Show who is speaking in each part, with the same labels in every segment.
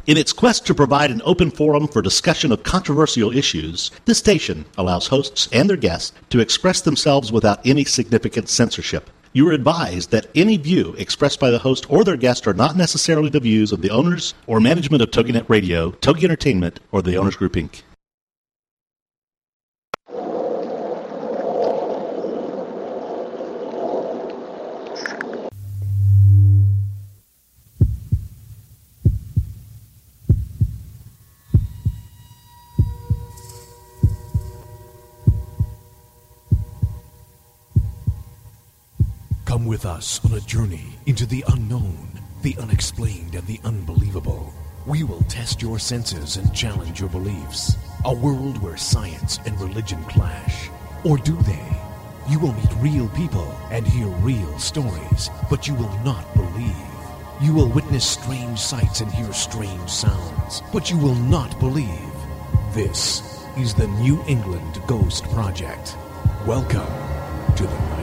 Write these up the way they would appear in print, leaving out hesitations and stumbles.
Speaker 1: In its quest to provide an open forum for discussion of controversial issues, this station allows hosts and their guests to express themselves without any significant censorship. You are advised that any view expressed by the host or their guest are not necessarily the views of the owners or management of TogiNet Radio, Togi Entertainment, or the Owners Group, Inc.
Speaker 2: Come with us on a journey into the unknown, the unexplained, and the unbelievable. We will test your senses and challenge your beliefs. A world where science and religion clash. Or do they? You will meet real people and hear real stories, but you will not believe. You will witness strange sights and hear strange sounds, but you will not believe. This is the New England Ghost Project. Welcome to the nightmare.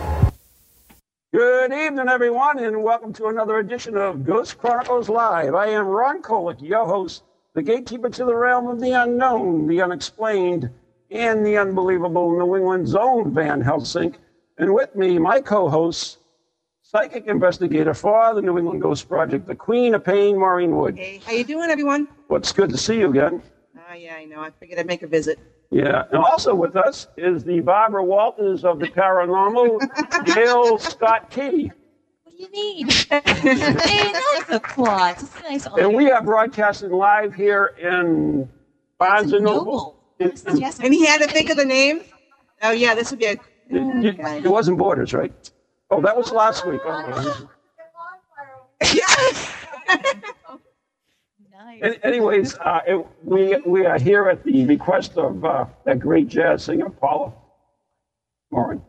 Speaker 3: Good evening, everyone, and welcome to another edition of Ghost Chronicles Live. I am Ron Kolick, your host, the gatekeeper to the realm of the unknown, the unexplained, and the unbelievable New England's own Van Helsing. And with me, my co-host, psychic investigator for the New England Ghost Project, the Queen of Pain, Maureen Wood.
Speaker 4: Hey, how you doing, everyone?
Speaker 3: Well, it's good to see you again.
Speaker 4: Yeah, I know. I figured I'd make a visit.
Speaker 3: Yeah, and also with us is the Barbara Walters of the paranormal, Gail Scott Key.
Speaker 5: What do you need? Hey, that's applause. It's nice.
Speaker 3: And we are broadcasting live here in Barnes & Noble.
Speaker 5: Yes.
Speaker 4: And he had to think of the name? Oh, yeah, this would be a...
Speaker 3: It wasn't Borders, right? Oh, that was last week. Oh.
Speaker 4: Yes!
Speaker 5: Nice.
Speaker 3: Anyways, we are here at the request of that great jazz singer, Paula Morin.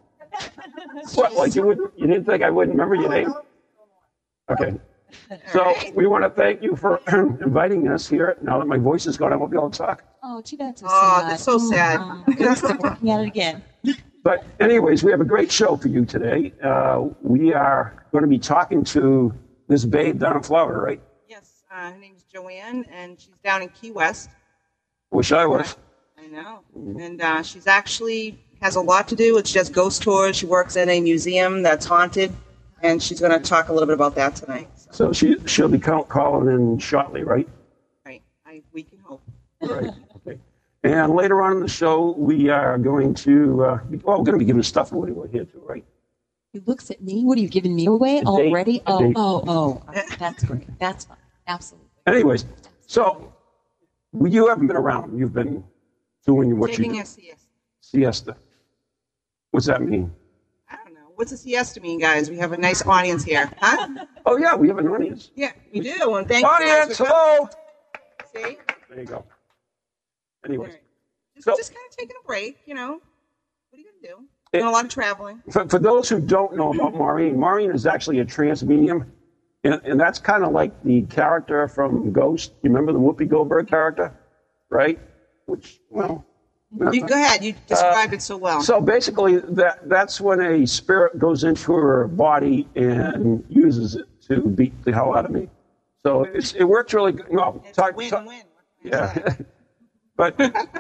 Speaker 3: What, like you didn't think I wouldn't remember your name? Okay. So we want to thank you for inviting us here. Now that my voice is gone, I won't be able to talk.
Speaker 5: Oh, too bad.
Speaker 4: That's so sad.
Speaker 5: Working at it again.
Speaker 3: But anyways, we have a great show for you today. We are going to be talking to this babe down in Florida, right?
Speaker 4: Yes, her name's Joanne, and she's down in Key West.
Speaker 3: Wish I was.
Speaker 4: I know. And she's actually has a lot to do. It's just ghost tours. She works in a museum that's haunted, and she's going to talk a little bit about that tonight.
Speaker 3: So she'll be calling in shortly, right?
Speaker 4: Right. We can hope.
Speaker 3: Right. Okay. And later on in the show, we are going to we're going to be giving stuff away here too, right?
Speaker 5: He looks at me. What are you giving me away already?
Speaker 3: Date.
Speaker 5: Oh. That's great. That's fine. Absolutely.
Speaker 3: Anyways, so you haven't been around. You've been doing what
Speaker 4: Taking
Speaker 3: you
Speaker 4: a
Speaker 3: do.
Speaker 4: siesta.
Speaker 3: Siesta. What's that mean?
Speaker 4: I don't know. What's a siesta mean, guys? We have a nice audience here. Huh?
Speaker 3: Oh, yeah, we have an audience.
Speaker 4: Yeah, we do. And thank you
Speaker 3: Audience,
Speaker 4: guys for
Speaker 3: hello!
Speaker 4: See?
Speaker 3: There you go. Anyways,
Speaker 4: Right.
Speaker 3: So-
Speaker 4: Just kind of taking a break, you know. What are you going to do? Doing a lot of traveling.
Speaker 3: for those who don't know about Maureen is actually a trance medium. And that's kind of like the character from Ghost. You remember the Whoopi Goldberg character? Right? Which, well...
Speaker 4: You go ahead. You described it so well.
Speaker 3: So basically, that's when a spirit goes into her body and uses it to beat the hell out of me. So it works really good. No,
Speaker 4: It's a win-win.
Speaker 3: Yeah. But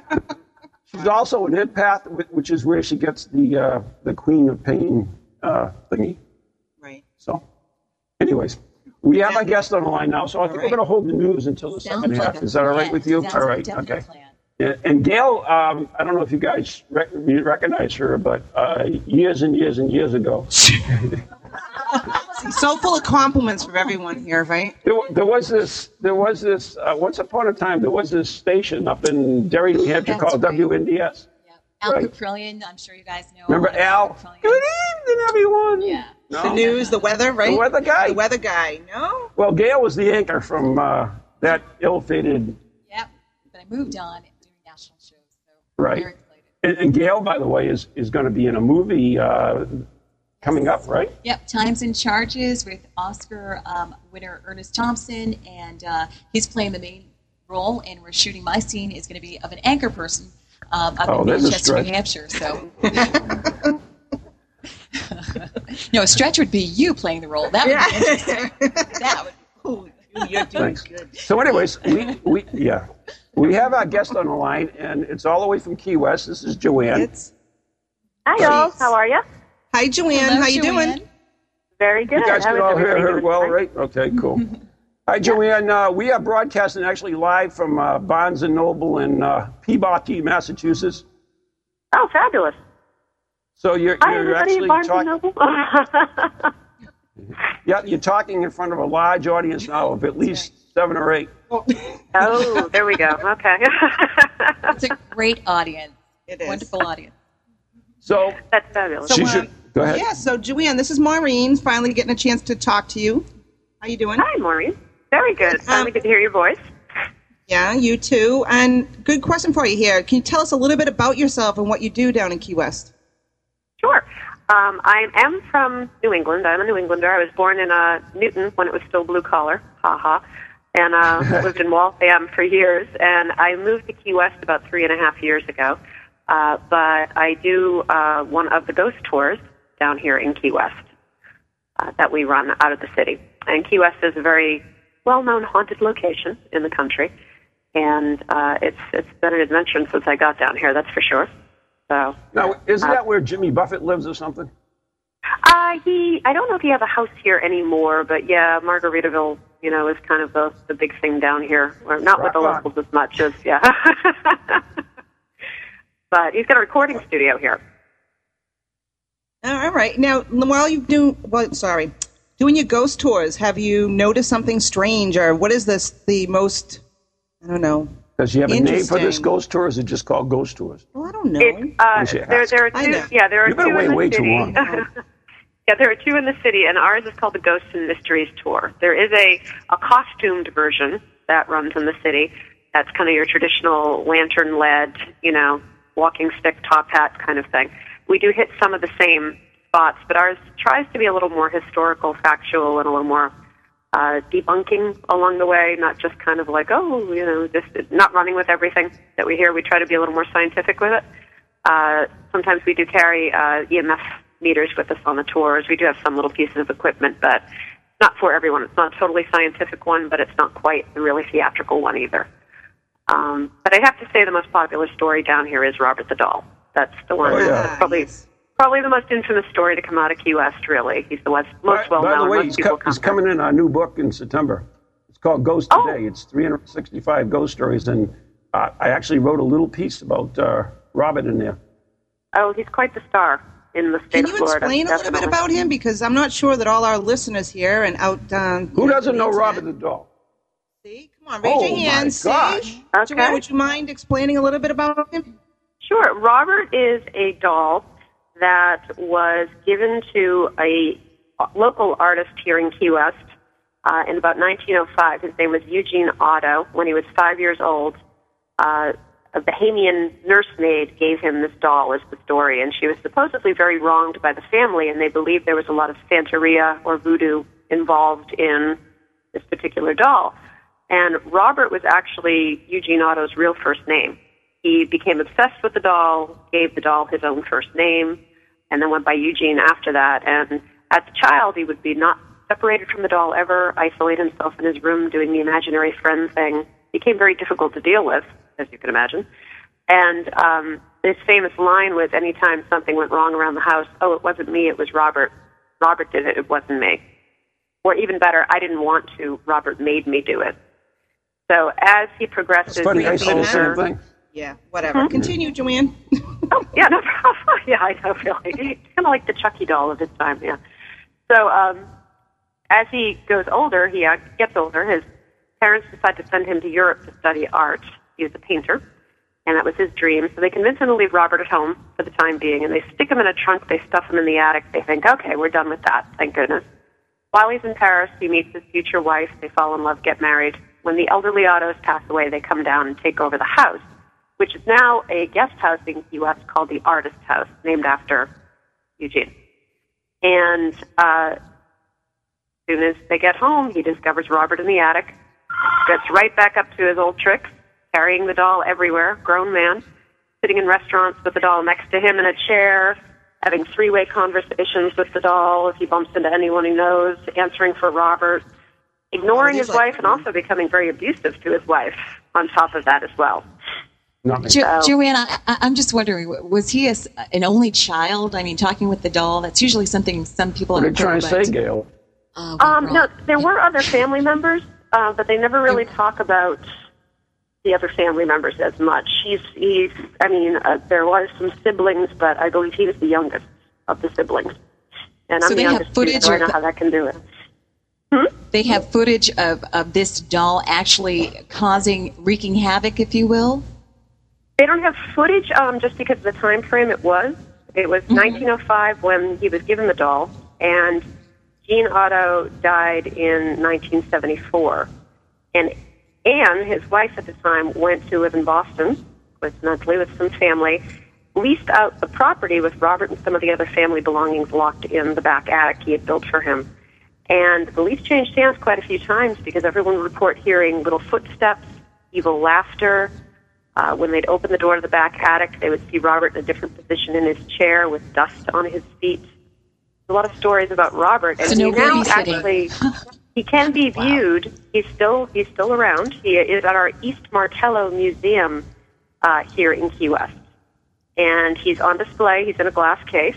Speaker 3: she's also an empath, which is where she gets the Queen of Pain thingy.
Speaker 4: Right.
Speaker 3: So, anyways, we have a guest on the line now, so I think we're
Speaker 4: right.
Speaker 3: going to hold the news until the
Speaker 5: Sounds
Speaker 3: second
Speaker 5: like
Speaker 3: half.
Speaker 5: a
Speaker 3: Is that all right
Speaker 5: plan.
Speaker 3: with you?
Speaker 5: Sounds
Speaker 3: All
Speaker 5: like a
Speaker 3: right.
Speaker 5: definite
Speaker 3: Okay.
Speaker 5: plan.
Speaker 3: Yeah, and Gail, I don't know if you guys recognize her, but years and years and years ago,
Speaker 4: So full of compliments from everyone here, right?
Speaker 3: there was this. Once upon a time, there was this station up in Derry, New Hampshire,
Speaker 5: That's
Speaker 3: called
Speaker 5: right.
Speaker 3: WNDS.
Speaker 5: Yep. Al
Speaker 3: Right.
Speaker 5: Caprillion, I'm sure you guys know.
Speaker 3: Remember Al?
Speaker 5: Caprillion.
Speaker 3: Good evening, everyone.
Speaker 5: Yeah.
Speaker 3: No?
Speaker 4: The news, the weather, right?
Speaker 3: The weather guy.
Speaker 4: The weather guy. No?
Speaker 3: Well, Gail was the anchor from that ill-fated.
Speaker 5: Yep. But I moved on doing national shows, so
Speaker 3: Right.
Speaker 5: I'm very excited.
Speaker 3: And Gail, by the way, is going to be in a movie coming up, right?
Speaker 5: Yep, Times and Charges with Oscar winner Ernest Thompson, and he's playing the main role, and we're shooting my scene is going to be of an anchor person up in
Speaker 3: there's a
Speaker 5: Manchester, New
Speaker 3: stretch.
Speaker 5: Hampshire. So, no, a stretch would be you playing the role. That would be interesting. That would.
Speaker 4: Ooh, You're doing
Speaker 3: Thanks.
Speaker 4: good.
Speaker 3: So anyways, we have our guest on the line, and it's all the way from Key West. This is Joanne.
Speaker 6: Hi, y'all. How are you?
Speaker 4: Hi, Joanne.
Speaker 5: Hello,
Speaker 4: How you
Speaker 5: Joanne.
Speaker 4: doing?
Speaker 6: Very good.
Speaker 3: You guys
Speaker 6: How
Speaker 3: can
Speaker 6: is
Speaker 3: all hear
Speaker 6: everybody
Speaker 3: her
Speaker 6: doing
Speaker 3: well,
Speaker 6: tonight?
Speaker 3: right? Okay, cool. Hi, Joanne. We are broadcasting actually live from Barnes & Noble in Peabody, Massachusetts.
Speaker 6: Oh, fabulous.
Speaker 3: So you're
Speaker 6: Hi, everybody
Speaker 3: actually
Speaker 6: at Barnes &
Speaker 3: talking.
Speaker 6: Noble.
Speaker 3: Yeah, you're talking in front of a large audience now of at least 7 or 8.
Speaker 6: Oh, there we go. Okay.
Speaker 5: It's a great audience.
Speaker 4: It is.
Speaker 5: Wonderful audience.
Speaker 3: So
Speaker 6: That's fabulous.
Speaker 3: she should go ahead.
Speaker 4: Yeah, so Joanne, this is Maureen, finally getting a chance to talk to you. How you doing?
Speaker 6: Hi, Maureen. Very good. Finally good to hear your voice.
Speaker 4: Yeah, you too. And good question for you here. Can you tell us a little bit about yourself and what you do down in Key West?
Speaker 6: Sure. I am from New England. I'm a New Englander. I was born in Newton when it was still blue collar. Ha ha. And lived in Waltham for years. And I moved to Key West about 3.5 years ago. But I do one of the ghost tours down here in Key West that we run out of the city. And Key West is a very well-known haunted location in the country. And it's been an adventure since I got down here, that's for sure. So
Speaker 3: Now, isn't that where Jimmy Buffett lives or something?
Speaker 6: I don't know if he has a house here anymore, but yeah, Margaritaville, is kind of the big thing down here. Or not with the
Speaker 3: Rock on.
Speaker 6: locals as much as, yeah. But he's got a recording studio here.
Speaker 4: All right. Now, while you doing your ghost tours, have you noticed something strange, or what is the most, I don't know.
Speaker 3: Does she have a name for this
Speaker 4: Interesting.
Speaker 3: ghost tour, or is it just called ghost tours?
Speaker 4: Well, I don't know.
Speaker 6: There are
Speaker 4: I
Speaker 6: two.
Speaker 4: know.
Speaker 6: Yeah, there are
Speaker 3: You've been
Speaker 6: two
Speaker 3: away
Speaker 6: in the
Speaker 3: way too
Speaker 6: city.
Speaker 3: long.
Speaker 6: Yeah, there are two in the city, and ours is called the Ghosts and Mysteries Tour. There is a costumed version that runs in the city. That's kind of your traditional lantern-led, walking stick, top hat kind of thing. We do hit some of the same spots, but ours tries to be a little more historical, factual, and a little more debunking along the way, not just kind of like, just not running with everything that we hear. We try to be a little more scientific with it. Sometimes we do carry EMF meters with us on the tours. We do have some little pieces of equipment, but not for everyone. It's not a totally scientific one, but it's not quite the really theatrical one either. But I have to say the most popular story down here is Robert the Doll. That's the one.
Speaker 3: Oh, yeah.
Speaker 6: That's probably the most infamous story to come out of Key West, really. He's the most well-known.
Speaker 3: By the way,
Speaker 6: Most people
Speaker 3: he's
Speaker 6: come
Speaker 3: coming in our new book in September. It's called Ghost Today. It's 365 ghost stories, and I actually wrote a little piece about Robert in there.
Speaker 6: Oh, he's quite the star in the state
Speaker 4: Can
Speaker 6: of
Speaker 4: you
Speaker 6: Florida.
Speaker 4: explain a little bit about him? Because I'm not sure that all our listeners here and out
Speaker 3: Who doesn't know Robert the Doll?
Speaker 4: See? Come on, raise your hand.
Speaker 3: My
Speaker 4: See?
Speaker 3: gosh.
Speaker 6: Okay.
Speaker 4: Joanne, would you mind explaining a little bit about him?
Speaker 6: Sure. Robert is a doll that was given to a local artist here in Key West in about 1905. His name was Eugene Otto. When he was 5 years old, a Bahamian nursemaid gave him this doll, as the story, and she was supposedly very wronged by the family, and they believed there was a lot of Santeria or voodoo involved in this particular doll. And Robert was actually Eugene Otto's real first name. He became obsessed with the doll, gave the doll his own first name, and then went by Eugene after that. And as a child, he would be not separated from the doll ever, isolate himself in his room doing the imaginary friend thing. Became very difficult to deal with, as you can imagine. And this famous line was, anytime something went wrong around the house, oh, it wasn't me, it was Robert. Robert did it, it wasn't me. Or even better, I didn't want to, Robert made me do it. So as he progresses,
Speaker 3: It's funny, I say the same thing.
Speaker 4: Yeah, whatever. Continue, Joanne.
Speaker 6: Oh, yeah, no problem. Yeah, I know, really. He's kind of like the Chucky doll of his time, yeah. So as he goes older, he gets older, his parents decide to send him to Europe to study art. He was a painter, and that was his dream. So they convince him to leave Robert at home for the time being, and they stick him in a trunk, they stuff him in the attic. They think, okay, we're done with that, thank goodness. While he's in Paris, he meets his future wife. They fall in love, get married. When the elderly Ottos pass away, they come down and take over the house, which is now a guest house in Key West called the Artist House, named after Eugene. And as soon as they get home, he discovers Robert in the attic, gets right back up to his old tricks, carrying the doll everywhere, grown man, sitting in restaurants with the doll next to him in a chair, having three-way conversations with the doll if he bumps into anyone he knows, answering for Robert. ignoring his wife and also becoming very abusive to his wife on top of that as well.
Speaker 5: Joanne, I'm just wondering, was he an only child? I mean, talking with the doll, that's usually something some people
Speaker 3: are trying to say, Gail.
Speaker 6: No, there were other family members, but they never really talk about the other family members as much. There was some siblings, but I believe he was the youngest of the siblings. And I'm the youngest, so I know how that can do it.
Speaker 5: They have footage of this doll actually wreaking havoc, if you will?
Speaker 6: They don't have footage just because of the time frame it was. It was 1905 when he was given the doll, and Gene Otto died in 1974. And Anne, his wife at the time, went to live in Boston, coincidentally, with some family, leased out the property with Robert and some of the other family belongings locked in the back attic he had built for him. And the lease changed hands quite a few times because everyone would report hearing little footsteps, evil laughter. When they'd open the door to the back attic, they would see Robert in a different position in his chair with dust on his feet. A lot of stories about Robert, and he now actually he can be viewed. Wow. He's still around. He is at our East Martello Museum here in Key West, and he's on display. He's in a glass case,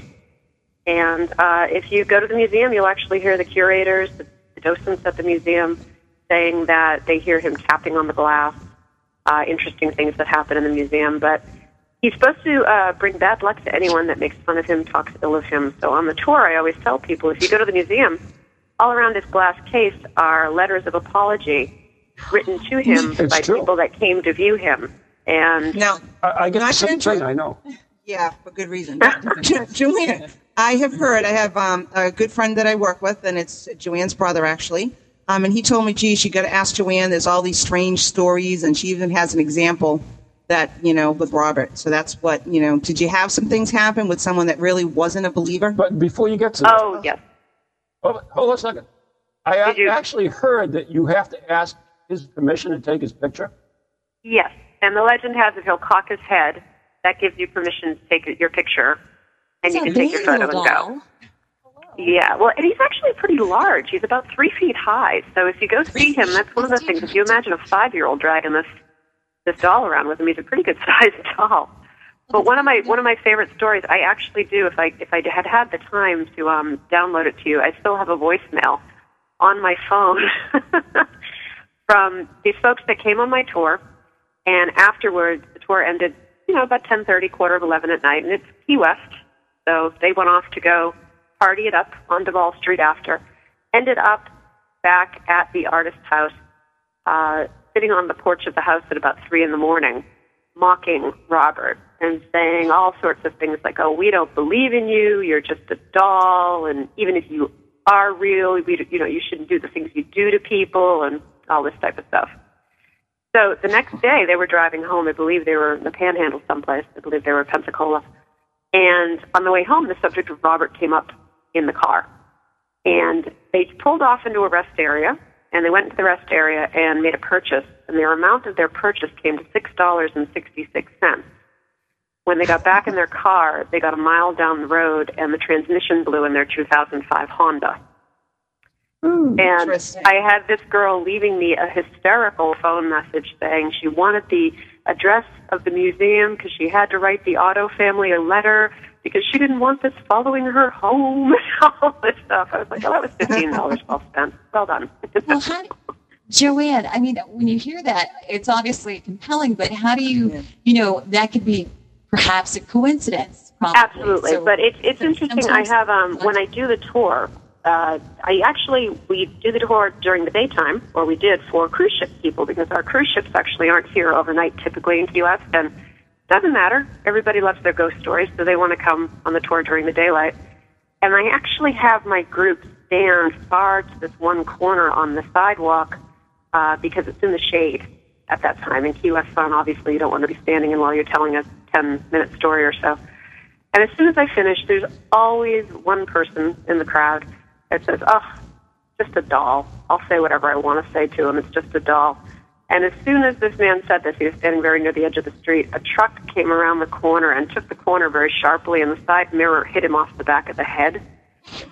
Speaker 6: and if you go to the museum, you'll actually hear the curators, the docents at the museum, saying that they hear him tapping on the glass. Interesting things that happen in the museum, but he's supposed to bring bad luck to anyone that makes fun of him, talks ill of him. So on the tour, I always tell people, if you go to the museum, all around this glass case are letters of apology written to him by people that came to view him. And
Speaker 4: now,
Speaker 3: I get the same thing, I know.
Speaker 4: Yeah, for good reason. Joanne, I have a good friend that I work with, and it's Joanne's brother, actually. And he told me, geez, you got to ask Joanne. There's all these strange stories, and she even has an example that, with Robert. So that's what, did you have some things happen with someone that really wasn't a believer?
Speaker 3: But before you get to that.
Speaker 6: Oh, yes.
Speaker 3: Hold on a second. I actually heard that you have to ask his permission to take his picture.
Speaker 6: Yes, and the legend has it he'll cock his head. That gives you permission to take your picture, and you can take your photo and go. Yeah, well, and he's actually pretty large. He's about 3 feet high. So if you go see him, that's one of the things. If you imagine a 5-year-old dragging this doll around with him, he's a pretty good sized doll. But one of my favorite stories, I actually do. If I had the time to download it to you, I still have a voicemail on my phone from these folks that came on my tour, and afterwards the tour ended, about 10:30, 11:15 at night, and it's Key West, so they went off to go party it up on Duval Street after. Ended up back at the artist's house, sitting on the porch of the house at about 3 a.m, mocking Robert and saying all sorts of things like, "Oh, we don't believe in you. You're just a doll, and even if you are real, you shouldn't do the things you do to people," and all this type of stuff. So the next day, they were driving home. I believe they were in the Panhandle someplace. I believe they were in Pensacola. And on the way home, the subject of Robert came up in the car. And they pulled off into a rest area, and they went into the rest area and made a purchase. And the amount of their purchase came to $6.66. When they got back in their car, they got a mile down the road, and the transmission blew in their 2005 Honda. And I had this girl leaving me a hysterical phone message saying she wanted the address of the museum because she had to write the Otto family a letter because she didn't want this following her home and all this stuff. I was like, that was $15 well spent. Well done.
Speaker 5: Well, Joanne, I mean, when you hear that, it's obviously compelling, but how do you, that could be perhaps a coincidence. Probably.
Speaker 6: Absolutely. So, but it's interesting. I have, when I do the tour, we do the tour during the daytime, or we did for cruise ship people, because our cruise ships actually aren't here overnight typically in Key West, and it doesn't matter. Everybody loves their ghost stories, so they want to come on the tour during the daylight. And I actually have my group stand far to this one corner on the sidewalk because it's in the shade at that time. In Key West Sun, obviously, you don't want to be standing in while you're telling a 10-minute story or so. And as soon as I finish, there's always one person in the crowd that says, "Oh, just a doll. I'll say whatever I want to say to him. It's just a doll." And as soon as this man said this, he was standing very near the edge of the street, a truck came around the corner and took the corner very sharply, and the side mirror hit him off the back of the head.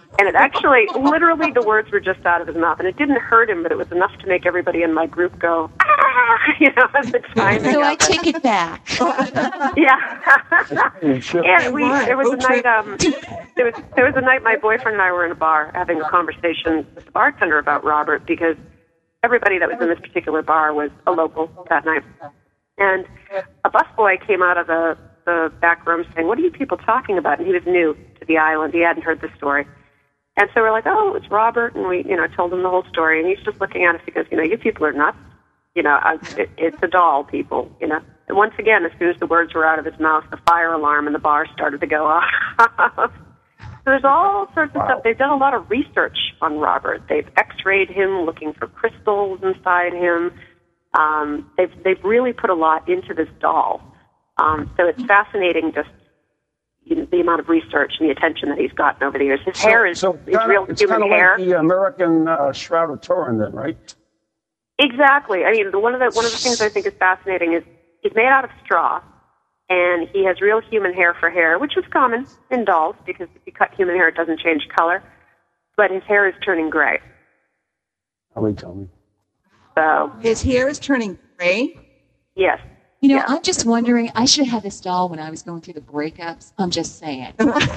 Speaker 6: And it actually, literally, the words were just out of his mouth. And it didn't hurt him, but it was enough to make everybody in my group go, ah, as the timing.
Speaker 5: So I take it back.
Speaker 6: Yeah. And there was a night, there was a night my boyfriend and I were in a bar having a conversation with the bartender about Robert, because everybody that was in this particular bar was a local that night. And a busboy came out of the back room saying, "What are you people talking about?" And he was new to the island. He hadn't heard the story. And so we're like, "Oh, it's Robert." And we, told him the whole story. And he's just looking at us. He goes, "You people are nuts. It's a doll, people, And once again, as soon as the words were out of his mouth, the fire alarm in the bar started to go off. So there's all sorts of stuff. They've done a lot of research on Robert. They've x-rayed him, looking for crystals inside him. They've really put a lot into this doll. So it's fascinating, just the amount of research and the attention that he's gotten over the years. His hair is real human hair.
Speaker 3: It's kind of like the American Shroud of Turin, then, right?
Speaker 6: Exactly. I mean, one of the things I think is fascinating is he's made out of straw, and he has real human hair for hair, which is common in dolls, because if you cut human hair, it doesn't change color. But his hair is turning gray.
Speaker 3: Tell me.
Speaker 6: So
Speaker 4: his hair is turning gray?
Speaker 6: Yes.
Speaker 5: I'm just wondering, I should have this doll when I was going through the breakups. I'm just saying.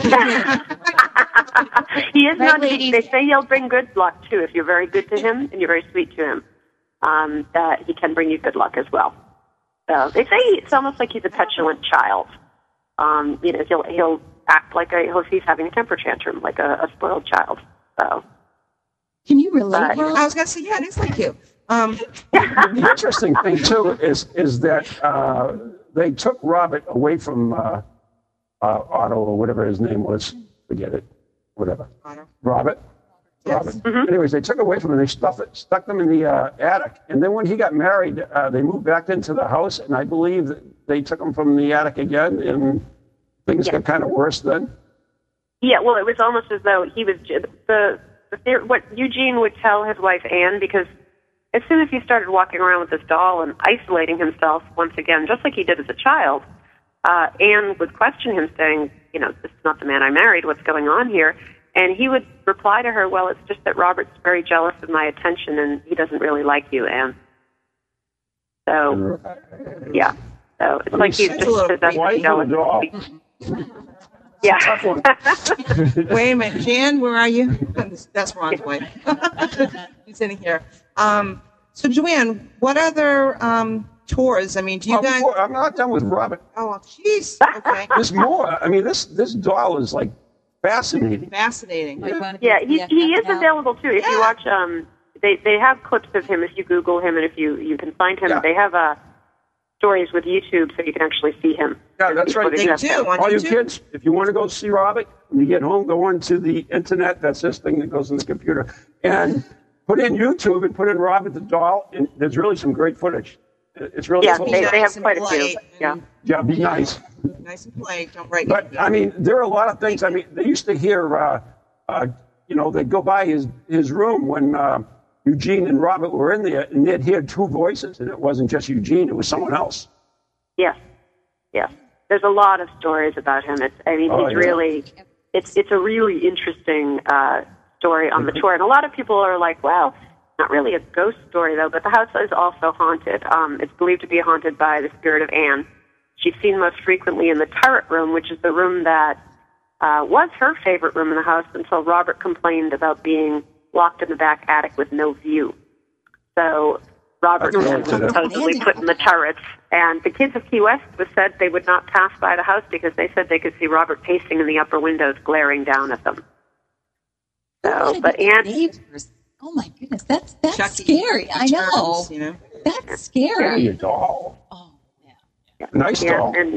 Speaker 6: He is not. They say he'll bring good luck, too, if you're very good to him and you're very sweet to him. That he can bring you good luck as well. So they say it's almost like he's a petulant child. He'll act like if he's having a temper tantrum, like a spoiled child. So.
Speaker 5: Can you relate?
Speaker 4: I was going to say, yeah, it is like you.
Speaker 3: The interesting thing too is that they took Robert away from Otto, or whatever his name was. Forget it. Whatever.
Speaker 4: Otto.
Speaker 3: Robert.
Speaker 4: Yes.
Speaker 3: Robert. Mm-hmm. Anyways, they took away from him and they stuck them in the attic. And then when he got married, they moved back into the house, and I believe that they took him from the attic again, and things got kind of worse then. Yeah,
Speaker 6: well, it was almost as though he was what Eugene would tell his wife Anne, because as soon as he started walking around with this doll and isolating himself once again, just like he did as a child, Anne would question him, saying, "This is not the man I married. What's going on here?" And he would reply to her, "Well, it's just that Robert's very jealous of my attention, and he doesn't really like you, Anne." So, yeah. So it's like he's just possessed with jealousy. Yeah.
Speaker 4: Wait a minute, Jan, where are you? That's Ron's wife. He's sitting here. So, Joanne, what other tours? I mean, do you guys?
Speaker 3: I'm not done with Robert.
Speaker 4: Oh, jeez. Okay.
Speaker 3: There's more. I mean, this doll is like fascinating.
Speaker 4: Fascinating.
Speaker 6: Yeah, he is available too. If you watch, they have clips of him if you Google him, and if you can find him. Yeah. They have stories with YouTube, so you can actually see him.
Speaker 3: Yeah, that's right.
Speaker 4: They do.
Speaker 3: All you kids, if you want to go see Robert, when you get home, go onto the internet. That's this thing that goes in the computer, and put in YouTube and put in Robert the doll, and there's really some great footage. It's really cool.
Speaker 6: They have quite a few.
Speaker 3: Yeah, be nice.
Speaker 4: Nice and play. Don't write.
Speaker 3: But I mean, there are a lot of things. I mean, they used to hear, they'd go by his room when Eugene and Robert were in there, and they'd hear two voices, and it wasn't just Eugene; it was someone else.
Speaker 6: Yes. There's a lot of stories about him. It's a really interesting story on the tour, and a lot of people are like, well, not really a ghost story though, but the house is also haunted. It's believed to be haunted by the spirit of Anne. She's seen most frequently in the turret room, which is the room that was her favorite room in the house until Robert complained about being locked in the back attic with no view. So Robert was supposedly put in the turrets, and the kids of Key West was said they would not pass by the house because they said they could see Robert pacing in the upper windows, glaring down at them. So, but Anne...
Speaker 5: Oh my goodness, that's scary. I know. That's scary.
Speaker 3: Yeah, your doll.
Speaker 5: Oh,
Speaker 6: yeah.
Speaker 3: Nice doll.
Speaker 6: And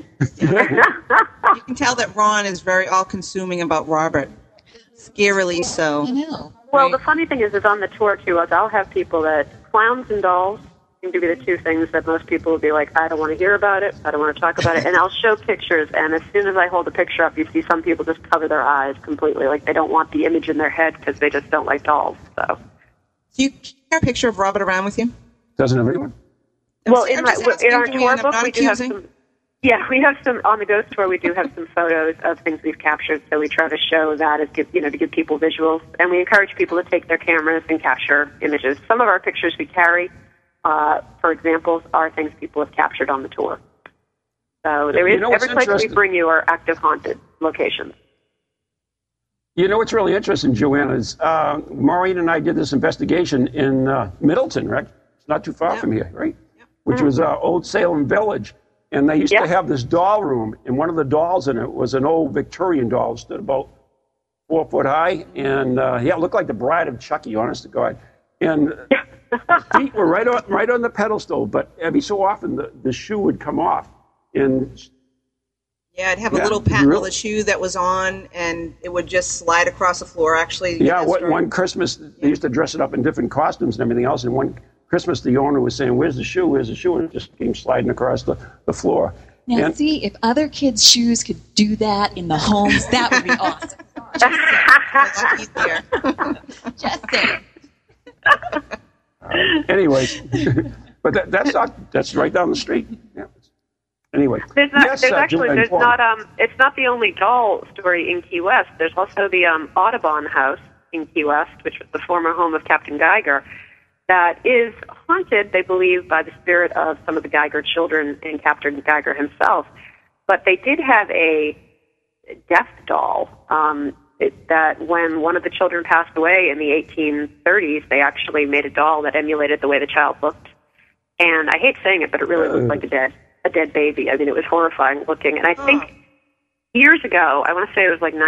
Speaker 4: you can tell that Ron is very all-consuming about Robert. Scarily so.
Speaker 5: I know.
Speaker 6: Well, the funny thing is on the tour, too, I'll have people that clowns and dolls seem to be the two things that most people will be like, I don't want to hear about it, I don't want to talk about it, and I'll show pictures, and as soon as I hold a picture up, you see some people just cover their eyes completely, like they don't want the image in their head because they just don't like dolls, so.
Speaker 4: Do you carry a picture of Robert around with you?
Speaker 3: Doesn't everyone?
Speaker 6: Well, in our tour book, we do have some. Yeah, we have some on the ghost tour. We do have some photos of things we've captured, so we try to show that as to give people visuals, and we encourage people to take their cameras and capture images. Some of our pictures we carry, for examples, are things people have captured on the tour. So there is every place we bring you are active haunted locations.
Speaker 3: You know what's really interesting, Joanna, is Maureen and I did this investigation in Middleton, right? It's not too far from here, right? Yep. Which was Old Salem Village. And they used to have this doll room, and one of the dolls in it was an old Victorian doll. It stood about 4 foot high, and it looked like the Bride of Chucky, honest to God. And the feet were right on the pedestal, but every so often the shoe would come off. And
Speaker 4: yeah, I'd have a little patent of the shoe that was on, and it would just slide across the floor, actually.
Speaker 3: Yeah, one Christmas, they used to dress it up in different costumes and everything else, and one Christmas, the owner was saying, "Where's the shoe? Where's the shoe?" And it just came sliding across the floor.
Speaker 5: Now, see, if other kids' shoes could do that in the homes, that would be awesome. Just saying.
Speaker 3: Anyways, but that's right down the street. Yeah. Anyway,
Speaker 6: it's not the only doll story in Key West. There's also the Audubon House in Key West, which was the former home of Captain Geiger, that is haunted, they believe, by the spirit of some of the Geiger children and Captain Geiger himself. But they did have a death doll that when one of the children passed away in the 1830s, they actually made a doll that emulated the way the child looked. And I hate saying it, but it really looked like a dead baby. I mean, it was horrifying looking. And I think years ago, I want to say it was like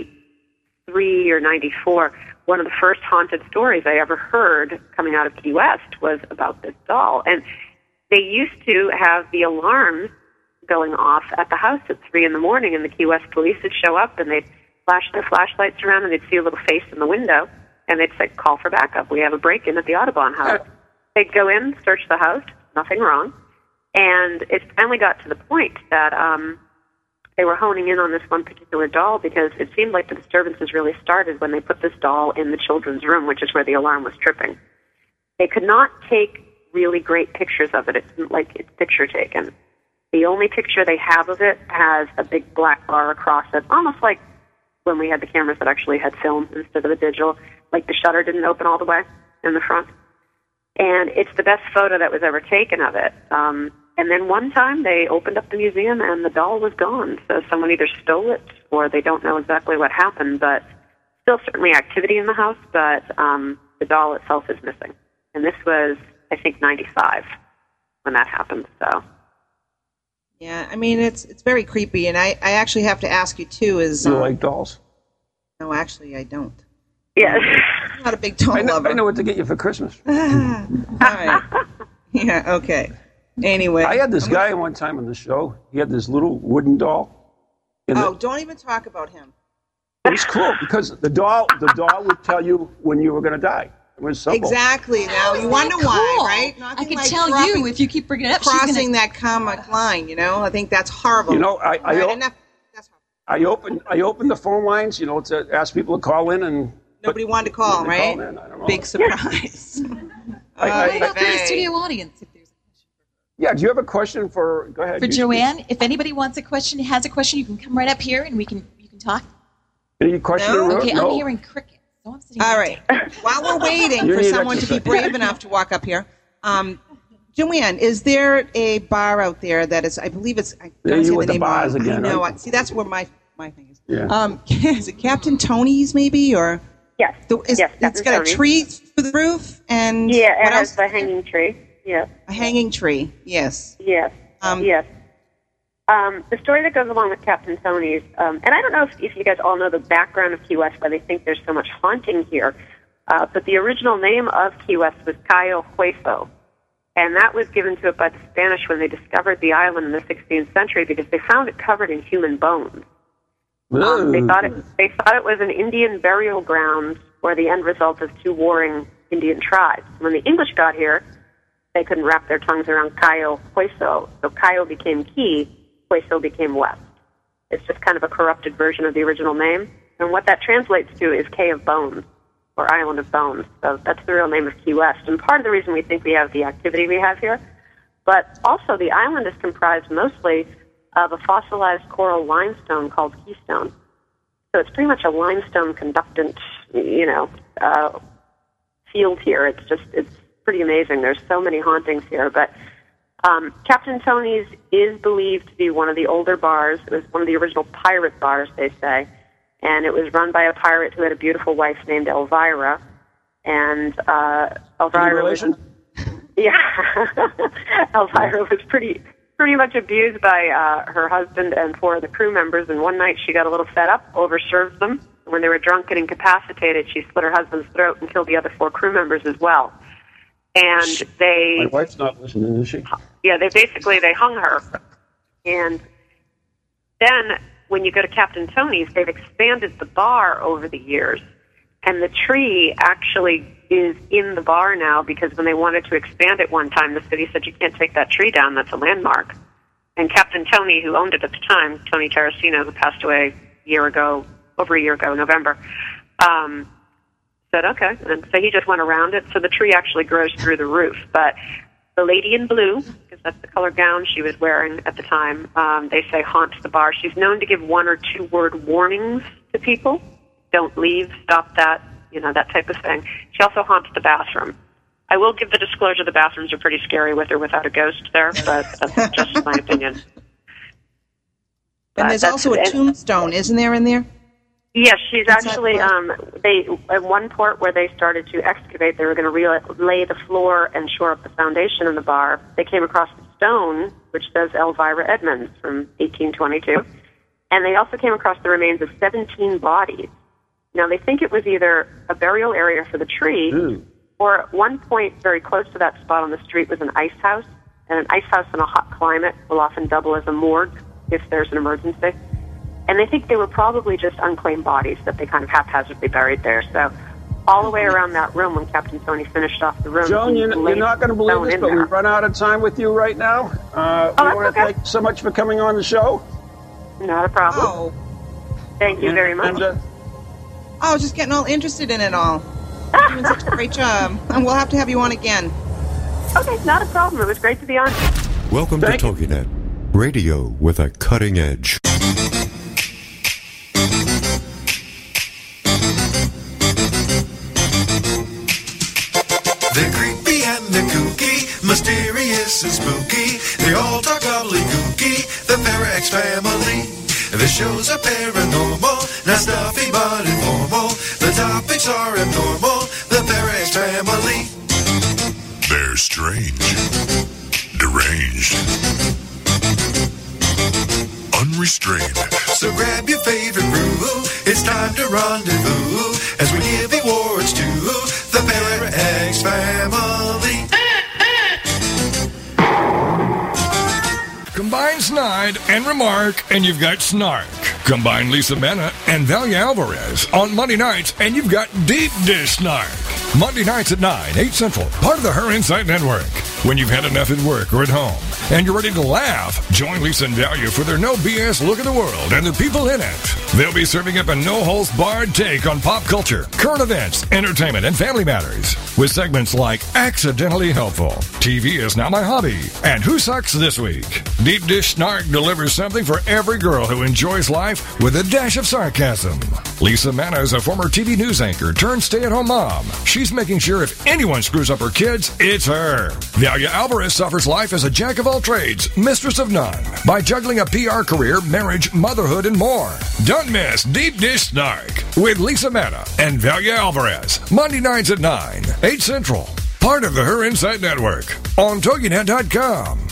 Speaker 6: 93 or 94, one of the first haunted stories I ever heard coming out of Key West was about this doll. And they used to have the alarms going off at the house at 3 in the morning, and the Key West police would show up, and they'd flash their flashlights around, and they'd see a little face in the window, and they'd say, "Call for backup. We have a break-in at the Audubon house." They'd go in, search the house, nothing wrong. And it finally got to the point that they were honing in on this one particular doll because it seemed like the disturbances really started when they put this doll in the children's room, which is where the alarm was tripping. They could not take really great pictures of it. It's like it's picture taken. The only picture they have of it has a big black bar across it, almost like when we had the cameras that actually had film instead of the digital, like the shutter didn't open all the way in the front. And it's the best photo that was ever taken of it. And then one time they opened up the museum and the doll was gone. So someone either stole it or they don't know exactly what happened, but still certainly activity in the house, but the doll itself is missing. And this was, I think, 95 when that happened. So.
Speaker 4: Yeah, I mean, it's very creepy. And I actually have to ask you, too, is...
Speaker 3: You like dolls?
Speaker 4: No, actually, I don't.
Speaker 6: Yes.
Speaker 4: I'm not a big doll lover.
Speaker 3: I know what to get you for Christmas.
Speaker 4: All right. Yeah, okay. Anyway.
Speaker 3: I had this guy one time on the show. He had this little wooden doll.
Speaker 4: Don't even talk about him.
Speaker 3: It was cool because the doll would tell you when you were going to die. It was simple.
Speaker 4: Exactly. Now, you wonder why, right?
Speaker 5: Nothing I can tell you if you keep bringing it up.
Speaker 4: Crossing that comic line, I think that's horrible.
Speaker 3: I opened the phone lines, to ask people to call in and...
Speaker 4: Nobody wanted to call, right?
Speaker 3: I don't know.
Speaker 4: Big surprise.
Speaker 5: What about for the studio audience? If there's a question.
Speaker 3: Yeah, do you have a question for? Go ahead.
Speaker 5: For Joanne, if anybody wants a question, has a question, you can come right up here and you can talk.
Speaker 3: Any question?
Speaker 4: No?
Speaker 5: Okay, I'm hearing crickets. So I'm sitting
Speaker 4: all right. While we're waiting for someone to be brave enough to walk up here, Joanne, is there a bar out there that is? I believe it's. I don't
Speaker 3: you with the bars again?
Speaker 4: No,
Speaker 3: right?
Speaker 4: See, that's where my thing is.
Speaker 3: Yeah.
Speaker 4: Is it Captain Tony's maybe or?
Speaker 6: Yes.
Speaker 4: It's got a tree for the roof and
Speaker 6: it has the hanging tree. Yes.
Speaker 4: A hanging tree. Yes.
Speaker 6: Yes. Yes. The story that goes along with Captain Tony's, and I don't know if you guys all know the background of Key West, why they think there's so much haunting here, but the original name of Key West was Cayo Hueso, and that was given to it by the Spanish when they discovered the island in the 16th century because they found it covered in human bones. They thought it was an Indian burial ground or the end result of two warring Indian tribes. When the English got here, they couldn't wrap their tongues around Cayo Hueso, so Cayo became Key, Hueso became West. It's just kind of a corrupted version of the original name, and what that translates to is Cay of Bones, or Island of Bones. So that's the real name of Key West, and part of the reason we think we have the activity we have here. But also the island is comprised mostly of a fossilized coral limestone called Keystone. So it's pretty much a limestone conductant, field here. It's pretty amazing. There's so many hauntings here. But Captain Tony's is believed to be one of the older bars. It was one of the original pirate bars, they say. And it was run by a pirate who had a beautiful wife named Elvira. And Elvira was... Yeah. Elvira was pretty much abused by her husband and 4 of the crew members. And one night she got a little fed up, overserved them. When they were drunk and incapacitated, she slit her husband's throat and killed the other 4 crew members as well. And
Speaker 3: My wife's not listening, is she?
Speaker 6: Yeah, they hung her. And then when you go to Captain Tony's, they've expanded the bar over the years. And the tree actually is in the bar now because when they wanted to expand it one time, the city said, you can't take that tree down. That's a landmark. And Captain Tony, who owned it at the time, Tony Terracino, who passed away over a year ago, November, said, okay. And so he just went around it. So the tree actually grows through the roof. But the lady in blue, because that's the color gown she was wearing at the time, they say haunts the bar. She's known to give 1 or 2 word warnings to people. Don't leave, stop that, that type of thing. She also haunts the bathroom. I will give the disclosure the bathrooms are pretty scary with or without a ghost there, but that's just my opinion.
Speaker 4: And there's also a tombstone, isn't there, in there?
Speaker 6: Yes, she's actually, they at one port where they started to excavate, they were going to lay the floor and shore up the foundation in the bar. They came across the stone, which says Elvira Edmonds from 1822, and they also came across the remains of 17 bodies. Now, they think it was either a burial area for the tree, or at one point very close to that spot on the street was an ice house, and an ice house in a hot climate will often double as a morgue if there's an emergency. And they think they were probably just unclaimed bodies that they kind of haphazardly buried there. So all the way around that room when Captain Tony finished off the room...
Speaker 3: Joan, you're not going to believe this, but we've run out of time with you right now. We want to thank you so much for coming on the show.
Speaker 6: Not a problem.
Speaker 4: Oh.
Speaker 6: Thank you very much.
Speaker 4: I was just getting all interested in it all. You're doing such a great job. And we'll have to have you on again.
Speaker 6: Okay, not a problem. It was great to be on.
Speaker 7: Welcome to TogiNet, radio with a cutting edge.
Speaker 8: They're creepy and they're kooky, mysterious and spooky. They all talk gobbledygooky, the Parax family. The shows are paranormal, not stuffy but informal. The topics are abnormal, the Parax family.
Speaker 9: They're strange, deranged, unrestrained.
Speaker 8: So grab your favorite brew, it's time to rendezvous as we give awards to the Parax family.
Speaker 10: Combine Snide and Remark, and you've got Snark. Combine Lisa Mena and Valia Alvarez on Monday nights, and you've got Deep Dish Snark. Monday nights at 9, 8 Central, part of the Her Insight Network. When you've had enough at work or at home, and you're ready to laugh, join Lisa and Valia for their no BS look at the world and the people in it. They'll be serving up a no-holds-barred take on pop culture, current events, entertainment, and family matters, with segments like Accidentally Helpful, TV is Now My Hobby, and Who Sucks This Week. Deep Dish Snark delivers something for every girl who enjoys life with a dash of sarcasm. Lisa Mena is a former TV news anchor turned stay-at-home mom. She's making sure if anyone screws up her kids, it's her. Valia Alvarez suffers life as a jack of all trades, mistress of none, by juggling a PR career, marriage, motherhood, and more. Don't miss Deep Dish Snark with Lisa Mena and Valia Alvarez, Monday nights at 9, 8 Central, part of the Her Insight Network, on TogiNet.com.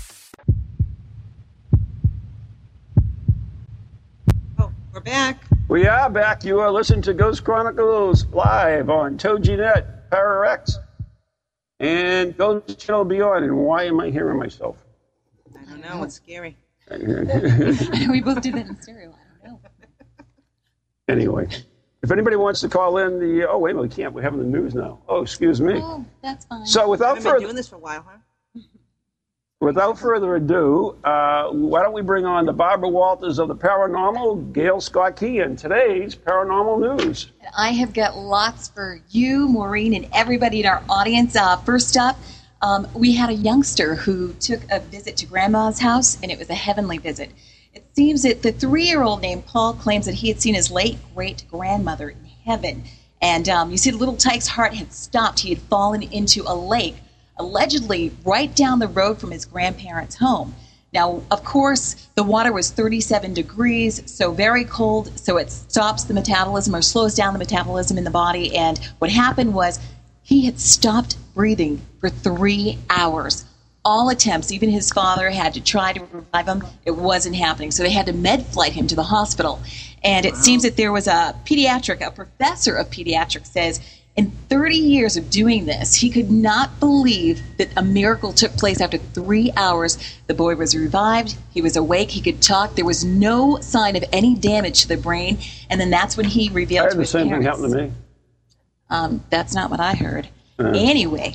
Speaker 4: Oh, we're back.
Speaker 3: We are back. You are listening to Ghost Chronicles live on TogiNet, Parax, and Ghost Channel Beyond. And why am I hearing myself?
Speaker 4: I don't know. It's scary.
Speaker 5: We both did that in stereo. I don't know.
Speaker 3: Anyway, if anybody wants to call in oh, wait a minute, we can't. We're having the news now. Oh, excuse me.
Speaker 5: Oh, that's fine.
Speaker 3: So
Speaker 4: I've been doing this for a while, huh?
Speaker 3: Without further ado, why don't we bring on the Barbara Walters of the Paranormal, Gail Scott Key, and today's Paranormal News.
Speaker 5: I have got lots for you, Maureen, and everybody in our audience. First up, we had a youngster who took a visit to Grandma's house, and it was a heavenly visit. It seems that the 3-year-old named Paul claims that he had seen his late great-grandmother in heaven. And you see, the little tyke's heart had stopped. He had fallen into a lake, allegedly right down the road from his grandparents' home. Now, of course, the water was 37 degrees, so very cold, so it stops the metabolism or slows down the metabolism in the body. And what happened was he had stopped breathing for 3 hours. All attempts, even his father had to try to revive him. It wasn't happening, so they had to med flight him to the hospital. And it seems that there was a professor of pediatrics says, in 30 years of doing this, he could not believe that a miracle took place after 3 hours. The boy was revived. He was awake. He could talk. There was no sign of any damage to the brain. And then that's when he revealed to his parents.
Speaker 3: I had the same thing happen to me.
Speaker 5: That's not what I heard. Anyway.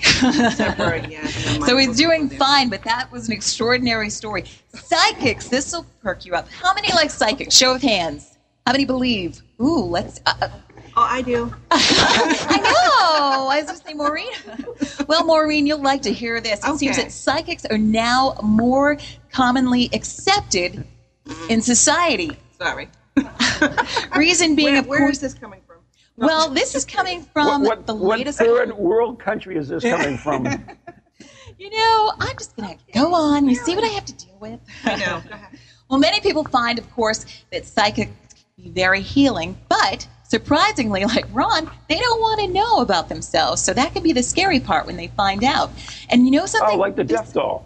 Speaker 5: So he's doing fine, but that was an extraordinary story. Psychics, this will perk you up. How many like psychics? Show of hands. How many believe? Ooh, let's...
Speaker 4: Oh, I do.
Speaker 5: I know. I was going to say Maureen. Well, Maureen, you'll like to hear this. It seems that psychics are now more commonly accepted in society.
Speaker 4: Sorry.
Speaker 5: Reason being,
Speaker 4: where is this coming from?
Speaker 5: Well, this is coming from the latest...
Speaker 3: What third world country is this coming from?
Speaker 5: You know, I'm just going to go on. You see what I have to deal with?
Speaker 4: I know. Go ahead.
Speaker 5: Well, many people find, of course, that psychics can be very healing, but... surprisingly, like Ron, they don't want to know about themselves. So that can be the scary part when they find out. And you know something?
Speaker 3: Oh, like the death doll.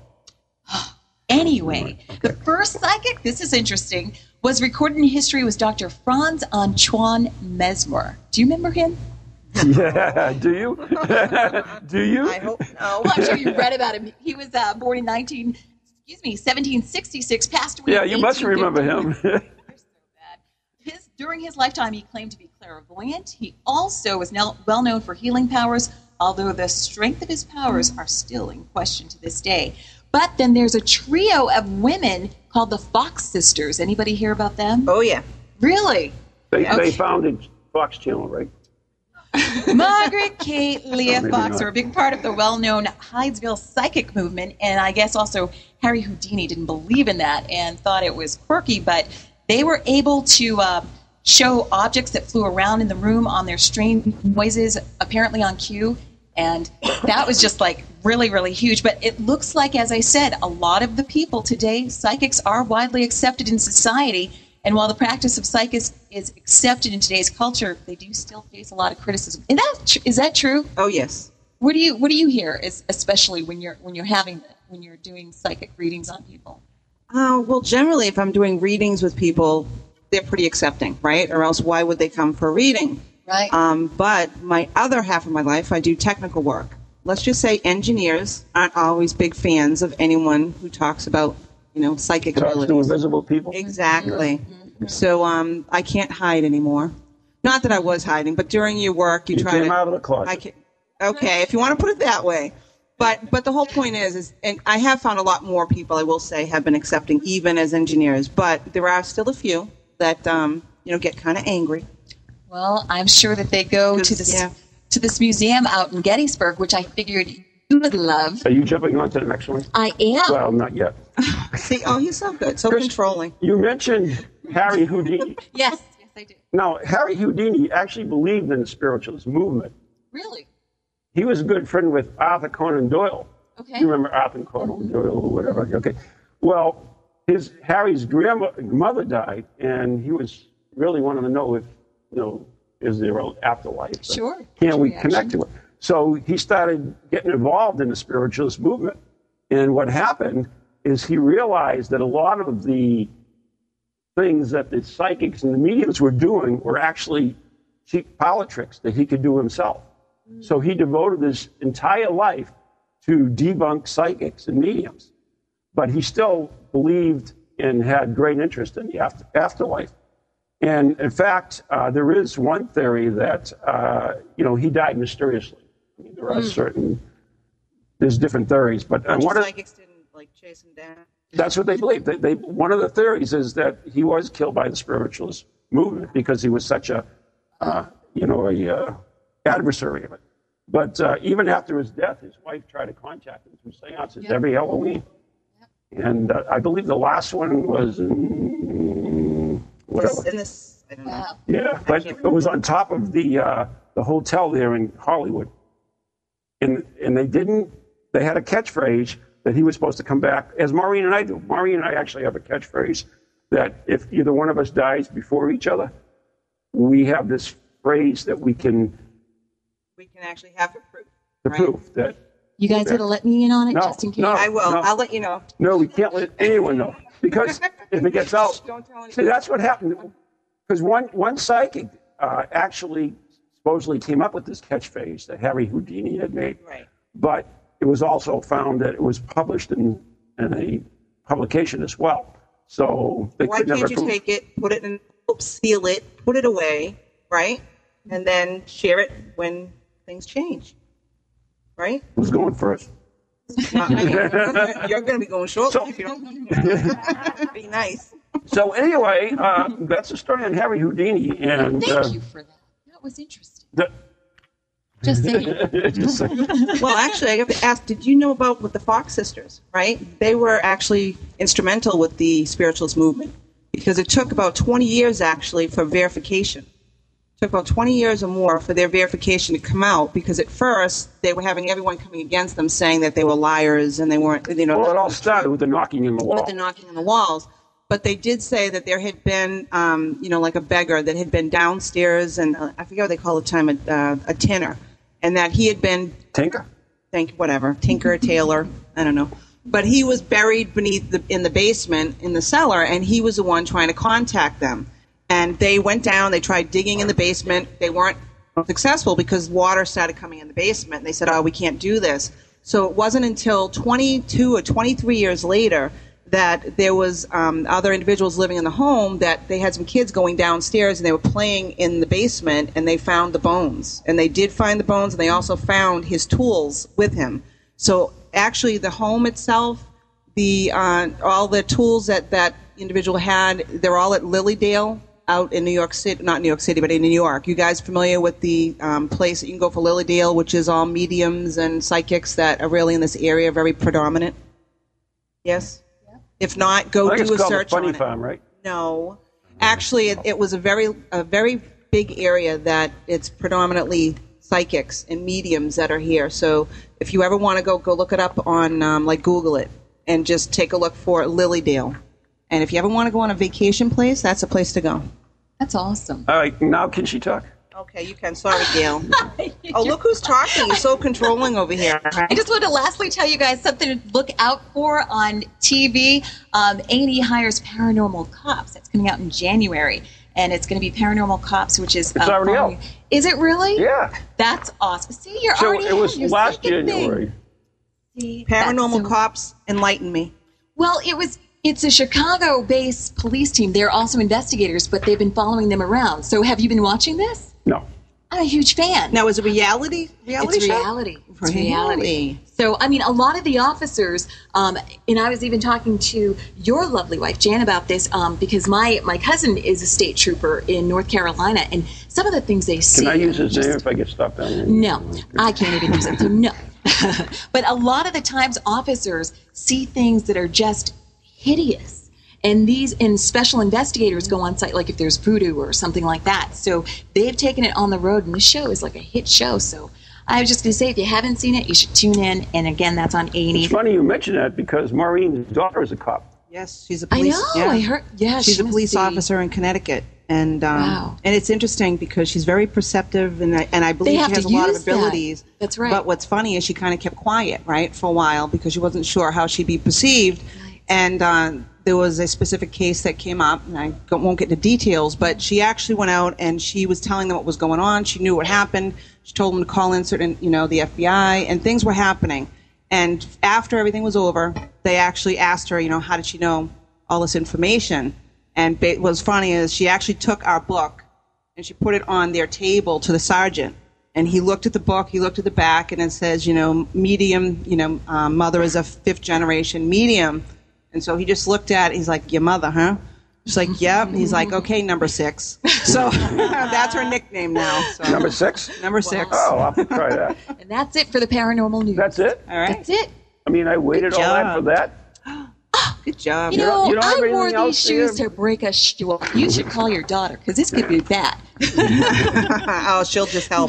Speaker 5: Anyway, the first psychic, this is interesting, was recorded in history was Dr. Franz Antoine Mesmer. Do you remember him?
Speaker 3: Yeah, do you? Do you?
Speaker 4: I hope no.
Speaker 5: Well, I'm sure you read about him. He was born in 1766, passed away.
Speaker 3: Yeah, you must remember him.
Speaker 5: During his lifetime, he claimed to be clairvoyant. He also was now well known for healing powers, although the strength of his powers are still in question to this day. But then there's a trio of women called the Fox Sisters. Anybody hear about them?
Speaker 4: Oh, yeah.
Speaker 5: Really?
Speaker 3: They founded Fox Channel, right?
Speaker 5: Margaret, Kate, Leah Fox are a big part of the well-known Hydesville psychic movement, and I guess also Harry Houdini didn't believe in that and thought it was quirky, but they were able to show objects that flew around in the room on their strange noises, apparently on cue. And that was just like really, really huge. But it looks like, as I said, a lot of the people today, psychics are widely accepted in society. And while the practice of psychics is accepted in today's culture, they do still face a lot of criticism. Is that true?
Speaker 4: Oh, yes.
Speaker 5: What do you hear, especially when you're doing psychic readings on people?
Speaker 4: Well, generally, if I'm doing readings with people, they're pretty accepting, right? Or else why would they come for a reading?
Speaker 5: Right.
Speaker 4: But my other half of my life, I do technical work. Let's just say engineers aren't always big fans of anyone who talks about, psychic abilities.
Speaker 3: To invisible people?
Speaker 4: Exactly. Mm-hmm. So I can't hide anymore. Not that I was hiding, but during your work, you try to...
Speaker 3: came out of the closet.
Speaker 4: Okay, if you want to put it that way. But the whole point is, and I have found a lot more people, I will say, have been accepting, even as engineers. But there are still a few that, get kind of angry.
Speaker 5: Well, I'm sure that they go to this museum out in Gettysburg, which I figured you would love.
Speaker 3: Are you jumping on to the next one?
Speaker 5: I am.
Speaker 3: Well, not yet.
Speaker 4: See, he's so good, so controlling.
Speaker 3: You mentioned Harry Houdini.
Speaker 5: Yes, I do.
Speaker 3: Now, Harry Houdini actually believed in the spiritualist movement.
Speaker 5: Really?
Speaker 3: He was a good friend with Arthur Conan Doyle.
Speaker 5: Okay.
Speaker 3: You remember Arthur Conan Doyle or whatever? Okay. Well, Harry's grandmother died, and he was really wanting to know if, is there an afterlife?
Speaker 5: Sure.
Speaker 3: Can we connect to it? So he started getting involved in the spiritualist movement. And what happened is he realized that a lot of the things that the psychics and the mediums were doing were actually cheap parlor tricks that he could do himself. So he devoted his entire life to debunk psychics and mediums. But he still believed and had great interest in the afterlife. And in fact, there is one theory that, he died mysteriously. I mean, there are there's different theories. But
Speaker 4: psychics didn't, chase him down?
Speaker 3: That's what they believe. One of the theories is that he was killed by the spiritualist movement because he was such a adversary of it. But even after his death, his wife tried to contact him through seances every Halloween. And I believe the last one was whatever.
Speaker 4: I don't know.
Speaker 3: Yeah, but it was on top of the hotel there in Hollywood. And they had a catchphrase that he was supposed to come back, as Maureen and I do. Maureen and I actually have a catchphrase that if either one of us dies before each other, we have this phrase that we can
Speaker 4: actually have the proof.
Speaker 3: The proof that.
Speaker 5: You guys got to let me in on it just in case.
Speaker 4: I will.
Speaker 3: No.
Speaker 4: I'll let you know.
Speaker 3: No, we can't let anyone know. Because if it gets out,
Speaker 4: Don't tell anyone.
Speaker 3: see, that's what happened. Because one psychic actually supposedly came up with this catchphrase that Harry Houdini had made.
Speaker 4: Right.
Speaker 3: But it was also found that it was published in a publication as well. So they
Speaker 4: Why
Speaker 3: could never
Speaker 4: can't you
Speaker 3: prove.
Speaker 4: take it, put it in, seal it, put it away, right? And then share it when things change, right?
Speaker 3: Who's going first?
Speaker 4: You're going to be going shortly if you don't. Be nice.
Speaker 3: So anyway, that's the story on Harry Houdini. And
Speaker 5: Thank you for that. That was interesting. Just saying.
Speaker 3: Just saying.
Speaker 4: Well, actually, I have to ask, did you know about with the Fox sisters, right? They were actually instrumental with the spiritualist movement because it took about 20 years, actually, for verification. It took about 20 years or more for their verification to come out because at first they were having everyone coming against them saying that they were liars and they weren't, you know.
Speaker 3: Well, it all started with the knocking in the wall.
Speaker 4: With the knocking on the walls. But they did say that there had been, like a beggar that had been downstairs and I forget what they call the time, a tinner. And that he had been
Speaker 3: Tinker,
Speaker 4: Taylor, I don't know. But he was buried in the basement in the cellar, and he was the one trying to contact them. And they went down. They tried digging in the basement. They weren't successful because water started coming in the basement. And they said, "Oh, we can't do this." So it wasn't until 22 or 23 years later that there was other individuals living in the home that they had some kids going downstairs and they were playing in the basement and they found the bones. And they did find the bones and they also found his tools with him. So actually the home itself, all the tools that individual had, they're all at Lilydale out in New York City, not New York City, but in New York. You guys familiar with the place that you can go for Lilydale, which is all mediums and psychics that are really in this area, very predominant? Yes? If not, go do a search on it.
Speaker 3: Funny Farm, right?
Speaker 4: No. Actually, it was a very big area that it's predominantly psychics and mediums that are here. So if you ever want to go look it up on, Google it, and just take a look for Lilydale. And if you ever want to go on a vacation place, that's a place to go.
Speaker 5: That's awesome.
Speaker 3: All right, now can she talk?
Speaker 4: Okay, you can. Sorry, Gail. Oh, look who's talking. You're so controlling over here.
Speaker 5: I just want to lastly tell you guys something to look out for on TV. A&E hires Paranormal Cops. That's coming out in January. And it's going to be Paranormal Cops, which is...
Speaker 3: It's already out.
Speaker 5: Is it really?
Speaker 3: Yeah.
Speaker 5: That's awesome. See, you're
Speaker 3: So
Speaker 5: already
Speaker 3: it was
Speaker 5: ahead. You're
Speaker 3: last
Speaker 5: second
Speaker 3: January.
Speaker 5: thing. See,
Speaker 4: Paranormal Cops, enlighten me.
Speaker 5: Well, it's a Chicago-based police team. They're also investigators, but they've been following them around. So have you been watching this?
Speaker 3: No.
Speaker 5: I'm a huge fan.
Speaker 4: Now, is it reality
Speaker 5: It's
Speaker 4: show?
Speaker 5: reality. It's reality. So, I mean, a lot of the officers, and I was even talking to your lovely wife, Jan, about this, because my cousin is a state trooper in North Carolina, and some of the things they see...
Speaker 3: Can I use his name if I get stopped down there?
Speaker 5: No, I can't even use it, so no. But a lot of the times, officers see things that are just hideous. And special investigators go on site, like if there's voodoo or something like that. So they've taken it on the road, and this show is like a hit show. So I was just going to say, if you haven't seen it, you should tune in. And again, that's on A&E.
Speaker 3: It's funny you mention that because Maureen's daughter is a cop.
Speaker 4: Yes, she's a police.
Speaker 5: I know.
Speaker 4: Yeah.
Speaker 5: I heard. Yeah,
Speaker 4: she's
Speaker 5: she
Speaker 4: a
Speaker 5: must
Speaker 4: police
Speaker 5: be.
Speaker 4: officer in Connecticut, and
Speaker 5: Wow.
Speaker 4: and it's interesting because she's very perceptive, and I believe
Speaker 5: They have
Speaker 4: she has
Speaker 5: to
Speaker 4: a lot of
Speaker 5: use that.
Speaker 4: abilities.
Speaker 5: That's right.
Speaker 4: But what's funny is she kind of kept quiet, right, for a while because she wasn't sure how she'd be perceived, and there was a specific case that came up, and I won't get into details, but she actually went out and she was telling them what was going on. She knew what happened. She told them to call in certain, the FBI, and things were happening. And after everything was over, they actually asked her, how did she know all this information? And what was funny is she actually took our book and she put it on their table to the sergeant. And he looked at the book, he looked at the back, and it says, medium, mother is a 5th generation medium. And so he just looked at it, he's like, your mother, huh? She's like, yep. He's like, okay, number 6. So that's her nickname now. So.
Speaker 3: Number 6?
Speaker 4: Number 6.
Speaker 3: Oh, I'll have to try that.
Speaker 5: And that's it for the paranormal news.
Speaker 3: That's it?
Speaker 4: All right.
Speaker 5: That's it.
Speaker 3: I mean, I waited all that for that.
Speaker 4: Good job.
Speaker 5: You know,
Speaker 3: you don't have
Speaker 5: I wore
Speaker 3: anything
Speaker 5: these
Speaker 3: else
Speaker 5: shoes
Speaker 3: here?
Speaker 5: to break a shoe. You should call your daughter, because this could be bad.
Speaker 4: Oh, she'll just help.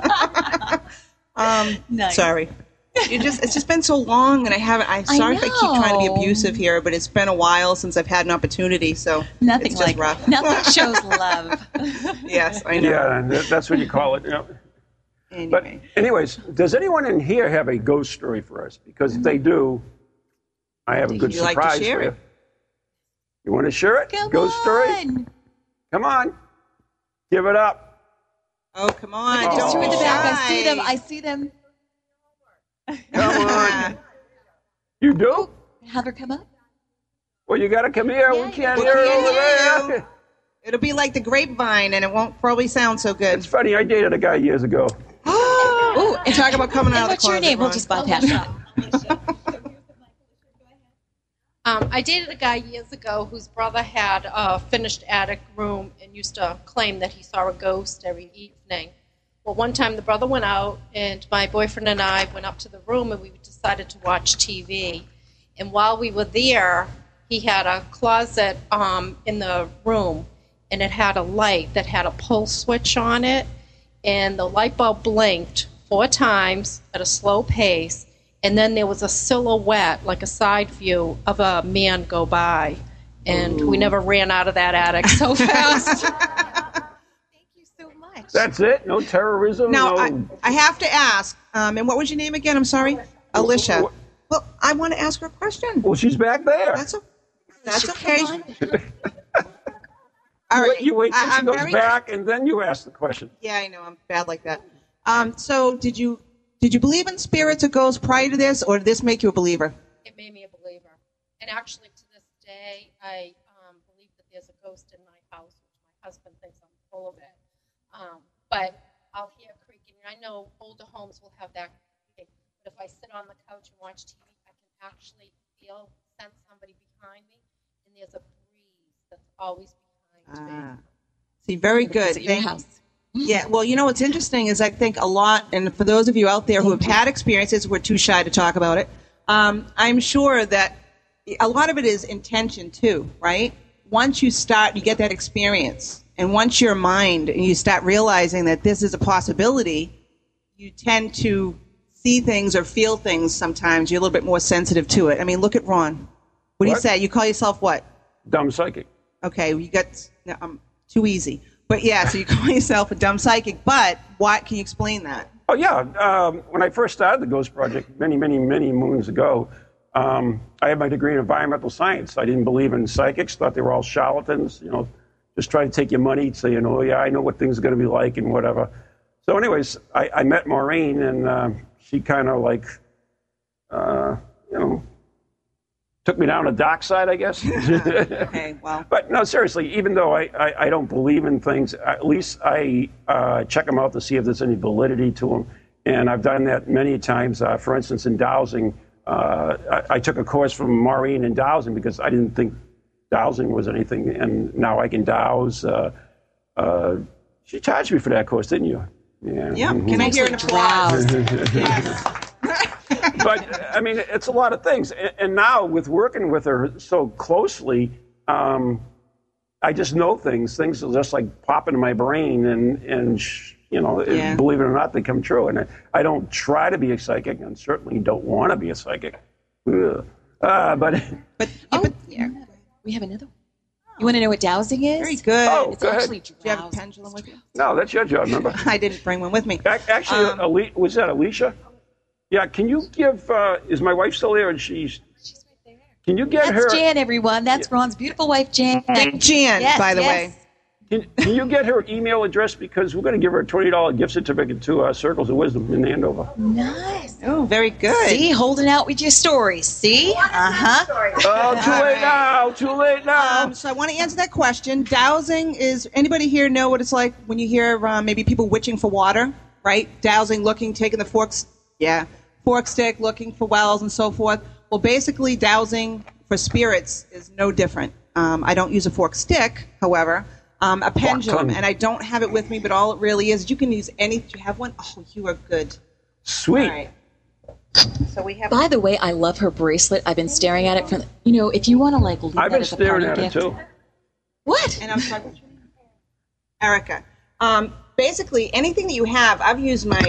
Speaker 5: Nice.
Speaker 4: Sorry. It's just been so long, and I'm sorry if I keep trying to be abusive here, but it's been a while since I've had an opportunity, so
Speaker 5: Nothing
Speaker 4: it's
Speaker 5: like
Speaker 4: just rough.
Speaker 5: nothing shows love.
Speaker 4: Yes, I know.
Speaker 3: Yeah, that's what you call it. You know.
Speaker 4: Anyway.
Speaker 3: But anyways, does anyone in here have a ghost story for us? Because if they do, I have a good
Speaker 4: you like to
Speaker 3: surprise
Speaker 4: share
Speaker 3: for you.
Speaker 4: it?
Speaker 3: You want to share it?
Speaker 5: Come
Speaker 3: Ghost story?
Speaker 5: on.
Speaker 3: Come on. Give it up.
Speaker 4: Oh, come on.
Speaker 5: Just
Speaker 4: Don't
Speaker 5: two in
Speaker 4: be
Speaker 5: the back.
Speaker 4: shy.
Speaker 5: I see them.
Speaker 3: Come on. You do?
Speaker 5: Have her come up.
Speaker 3: Well, you got to come here.
Speaker 5: Yeah,
Speaker 3: We can't
Speaker 4: we
Speaker 3: hear it
Speaker 4: can't
Speaker 3: over
Speaker 4: hear
Speaker 3: there.
Speaker 4: you. It'll be like the grapevine, and it won't probably sound so good.
Speaker 3: It's funny. I dated a guy years ago.
Speaker 4: Ooh, and talk about coming out of the
Speaker 5: What's your
Speaker 4: closet,
Speaker 5: name? We'll
Speaker 4: Ron.
Speaker 5: just bypass that.
Speaker 11: I dated a guy years ago whose brother had a finished attic room and used to claim that he saw a ghost every evening. Well, one time the brother went out, and my boyfriend and I went up to the room, and we decided to watch TV. And while we were there, he had a closet in the room, and it had a light that had a pull switch on it, and the light bulb blinked 4 times at a slow pace, and then there was a silhouette, like a side view, of a man go by. And we never ran out of that attic so fast.
Speaker 5: Thank you so much.
Speaker 3: That's it? No terrorism?
Speaker 4: Now,
Speaker 3: no...
Speaker 4: I have to ask, and what was your name again? I'm sorry? Alicia. Well, I want to ask her a question.
Speaker 3: Well, she's back there.
Speaker 4: That's okay. All right.
Speaker 3: You wait till she
Speaker 4: I'm
Speaker 3: goes
Speaker 4: very-
Speaker 3: back, and then you ask the question.
Speaker 4: Yeah, I know. I'm bad like that. So did you believe in spirits or ghosts prior to this, or did this make you a believer?
Speaker 11: It made me a believer. And actually, to this day, I believe that there's a ghost in my house, which my husband thinks I'm full of it. But I'll hear creaking. I know older homes will have that creaking. But if I sit on the couch and watch TV, I can actually sense somebody behind me, and there's a breeze that's always behind me.
Speaker 4: See, very good.
Speaker 5: Visit your house.
Speaker 4: Yeah, well, you know what's interesting is I think a lot, and for those of you out there who have had experiences, we're too shy to talk about it, I'm sure that a lot of it is intention too, right? Once you start, you get that experience, and once your mind, and you start realizing that this is a possibility, you tend to see things or feel things sometimes. You're a little bit more sensitive to it. I mean, look at Ron. What do you say? You call yourself what?
Speaker 3: Dumb psychic.
Speaker 4: Okay, you got too easy. But yeah, so you call yourself a dumb psychic, but what can you explain that?
Speaker 3: Oh, yeah. When I first started the Ghost Project many, many, many moons ago, I had my degree in environmental science. I didn't believe in psychics, thought they were all charlatans, just try to take your money, say, yeah, I know what things are going to be like and whatever. So anyways, I met Maureen, and she kind of like, took me down a dark side, I guess.
Speaker 4: Okay, well.
Speaker 3: But no, seriously, even though I don't believe in things, at least I check them out to see if there's any validity to them. And I've done that many times. For instance, in dowsing, I took a course from Maureen in dowsing because I didn't think dowsing was anything. And now I can dowse. She charged me for that course, didn't you?
Speaker 4: Yeah. Can I hear an applause? Yes.
Speaker 3: But, I mean, it's a lot of things. And now, with working with her so closely, I just know things. Things will just, like, pop into my brain, and believe it or not, they come true. And I don't try to be a psychic, and certainly don't want to be a psychic. But
Speaker 5: we have another one. You want to know what dowsing is?
Speaker 4: Very good.
Speaker 3: Oh,
Speaker 5: It's
Speaker 3: go
Speaker 5: actually
Speaker 3: ahead.
Speaker 4: Do you have a pendulum with you?
Speaker 3: No, that's your job, remember?
Speaker 4: I didn't bring one with me.
Speaker 3: Actually, was that Alicia? Yeah, can you give, is my wife still there? And she's right there. Can you get her?
Speaker 5: That's Jan, everyone. That's Ron's beautiful wife, Jan.
Speaker 4: Jan,
Speaker 5: Yes,
Speaker 4: by the
Speaker 5: yes.
Speaker 4: way.
Speaker 3: Can you get her email address? Because we're going to give her a $20 gift certificate to Circles of Wisdom in Andover.
Speaker 5: Nice.
Speaker 4: Oh, very good.
Speaker 5: See, holding out with your stories. See? Uh-huh.
Speaker 3: Oh, too late now.
Speaker 4: So I want to answer that question. Dowsing is, anybody here know what it's like when you hear maybe people witching for water, right? Dowsing, taking the fork stick, looking for wells and so forth. Well, basically, dowsing for spirits is no different. I don't use a fork stick, however. A pendulum, and I don't have it with me, but all it really is, you can use any. Do you have one? Oh, you are good.
Speaker 3: Sweet.
Speaker 4: All right. So we have.
Speaker 5: By the way, I love her bracelet. I've been staring at it from. If you want to leave
Speaker 3: I've
Speaker 5: that
Speaker 3: been
Speaker 5: as a
Speaker 3: staring
Speaker 5: party
Speaker 3: at it
Speaker 5: gift.
Speaker 3: too.
Speaker 5: What?
Speaker 4: And I'm sorry, what's your name? Erica. Basically, anything that you have, I've used my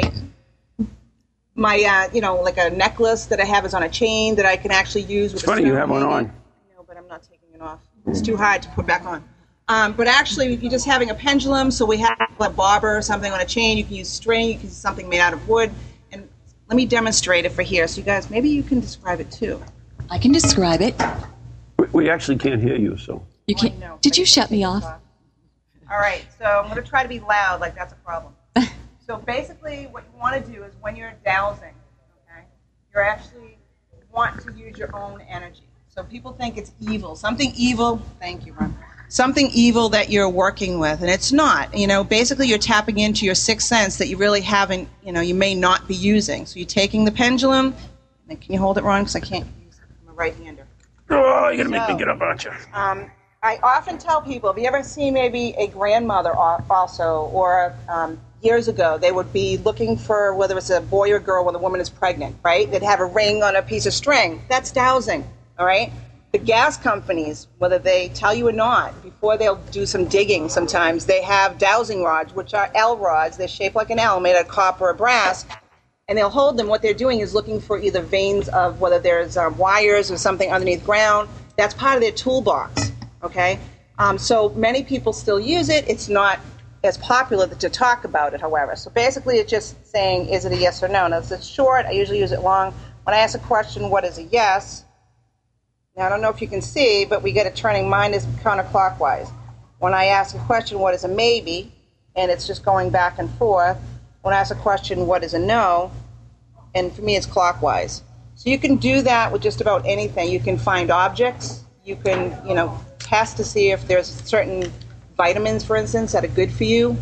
Speaker 4: like a necklace that I have is on a chain that I can actually use with
Speaker 3: It's funny you have one on.
Speaker 4: No, but I'm not taking it off. It's too hard to put back on. But actually, if you're just having a pendulum, so we have a bobber or something on a chain, you can use string, you can use something made out of wood. And let me demonstrate it for here. So you guys, maybe you can describe it too.
Speaker 5: I can describe it.
Speaker 3: We actually can't hear you, so.
Speaker 5: You can't. Did you shut me off?
Speaker 4: All right, so I'm going to try to be loud, like that's a problem. So basically what you want to do is when you're dowsing, okay, you actually want to use your own energy. So people think it's evil, something evil, thank you, Ron, something evil that you're working with, and it's not. Basically you're tapping into your sixth sense that you really haven't, you may not be using. So you're taking the pendulum, and can you hold it, Ron, because I can't use it, I'm a right-hander.
Speaker 3: Oh, you're going to make me get up, aren't you?
Speaker 4: I often tell people, have you ever seen maybe a grandmother also, or years ago, they would be looking for whether it's a boy or girl when the woman is pregnant, right? They'd have a ring on a piece of string. That's dowsing, all right? The gas companies, whether they tell you or not, before they'll do some digging sometimes, they have dowsing rods, which are L rods. They're shaped like an L, made out of copper or brass, and they'll hold them. What they're doing is looking for either veins of whether there's wires or something underneath ground. That's part of their toolbox. Okay, so many people still use it. It's not as popular to talk about it, however. So basically it's just saying, is it a yes or no? Now, if it's short, I usually use it long. When I ask a question, what is a yes? Now, I don't know if you can see, but we get it turning. Mine is counterclockwise. When I ask a question, what is a maybe? And it's just going back and forth. When I ask a question, what is a no? And for me, it's clockwise. So you can do that with just about anything. You can find objects. You can, test to see if there's certain vitamins, for instance, that are good for you.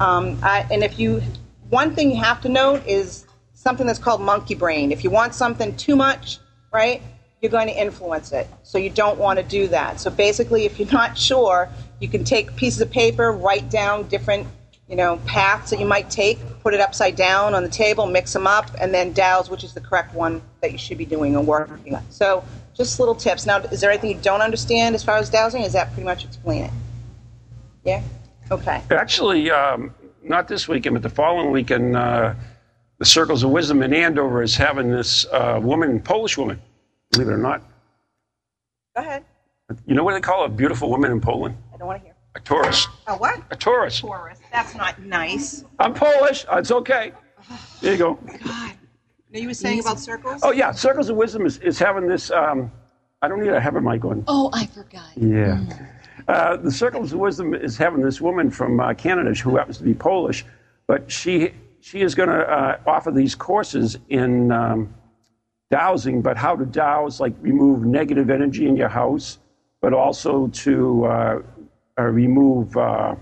Speaker 4: One thing you have to note is something that's called monkey brain. If you want something too much, right, you're going to influence it. So you don't want to do that. So basically, if you're not sure, you can take pieces of paper, write down different, paths that you might take, put it upside down on the table, mix them up, and then douse which is the correct one that you should be doing or working on. So just little tips. Now, is there anything you don't understand as far as dowsing? Is that pretty much explain it? Yeah? Okay.
Speaker 3: Actually, not this weekend, but the following weekend, the Circles of Wisdom in Andover is having this Polish woman, believe it or not.
Speaker 4: Go ahead.
Speaker 3: You know what they call a beautiful woman in Poland?
Speaker 4: I don't want to hear.
Speaker 3: A tourist.
Speaker 4: A what?
Speaker 3: A tourist.
Speaker 4: Tourist. That's not nice.
Speaker 3: I'm Polish. It's okay. There you go.
Speaker 4: God. Now you were saying about circles?
Speaker 3: Oh, yeah. Circles of Wisdom is having this. I don't need to have a mic on.
Speaker 5: Oh, I forgot.
Speaker 3: Yeah. The Circles of Wisdom is having this woman from Canada who happens to be Polish, but she is going to offer these courses in dowsing, but how to douse, like remove negative energy in your house, but also to remove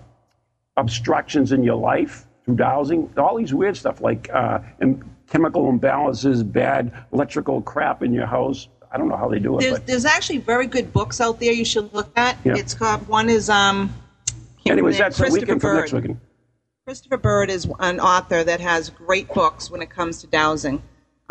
Speaker 3: obstructions in your life through dowsing. All these weird stuff like chemical imbalances, bad electrical crap in your house. I don't know how they do it.
Speaker 4: There's actually very good books out there you should look at.
Speaker 3: Yeah.
Speaker 4: It's called, one is,
Speaker 3: anyways, that's the weekend from next weekend.
Speaker 4: Christopher Bird is an author that has great books when it comes to dowsing.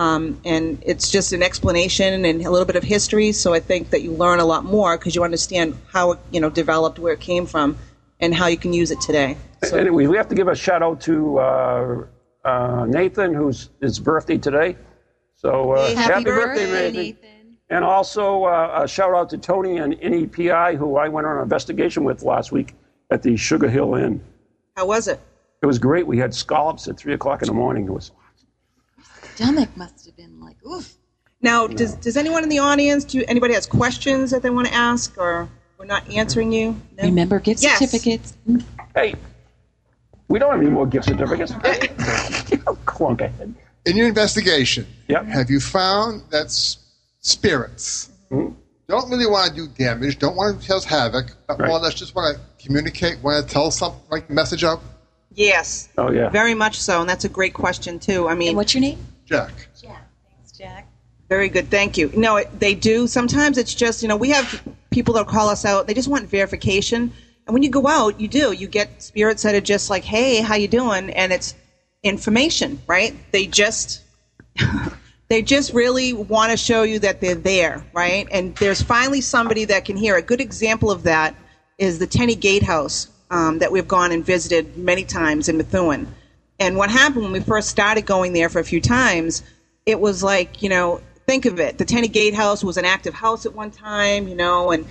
Speaker 4: And it's just an explanation and a little bit of history, so I think that you learn a lot more because you understand how it, developed, where it came from, and how you can use it today. So,
Speaker 3: anyway, we have to give a shout-out to Nathan, whose his birthday today. So happy birthday, Nathan. And also a shout-out to Tony and NEPI, who I went on an investigation with last week at the Sugar Hill Inn.
Speaker 4: How was it?
Speaker 3: It was great. We had scallops at 3 o'clock in the morning. It was
Speaker 5: stomach must have been like, oof.
Speaker 4: Now, does anyone in the audience, anybody has questions that they want to ask, or we're not answering you? No?
Speaker 5: Remember gift certificates?
Speaker 3: Hey, we don't have any more gift certificates. Clunk ahead.
Speaker 12: In your investigation,
Speaker 3: yep.
Speaker 12: Have you found that spirits don't really want to do damage, don't want to cause havoc, but more or less just want to communicate, want to tell something, like a message out?
Speaker 4: Yes.
Speaker 3: Oh, yeah.
Speaker 4: Very much so, and that's a great question, too. I mean,
Speaker 5: and what's your name?
Speaker 12: Jack.
Speaker 5: Jack. Thanks, Jack.
Speaker 4: Very good. Thank you. No, they do. Sometimes it's just, we have people that call us out, they just want verification. And when you go out, you get spirits that are just like, hey, how you doing? And it's information, right? They just really want to show you that they're there, right? And there's finally somebody that can hear. A good example of that is the Tenny Gatehouse that we've gone and visited many times in Methuen. And what happened when we first started going there for a few times, it was like, think of it. The Tenny Gatehouse was an active house at one time, and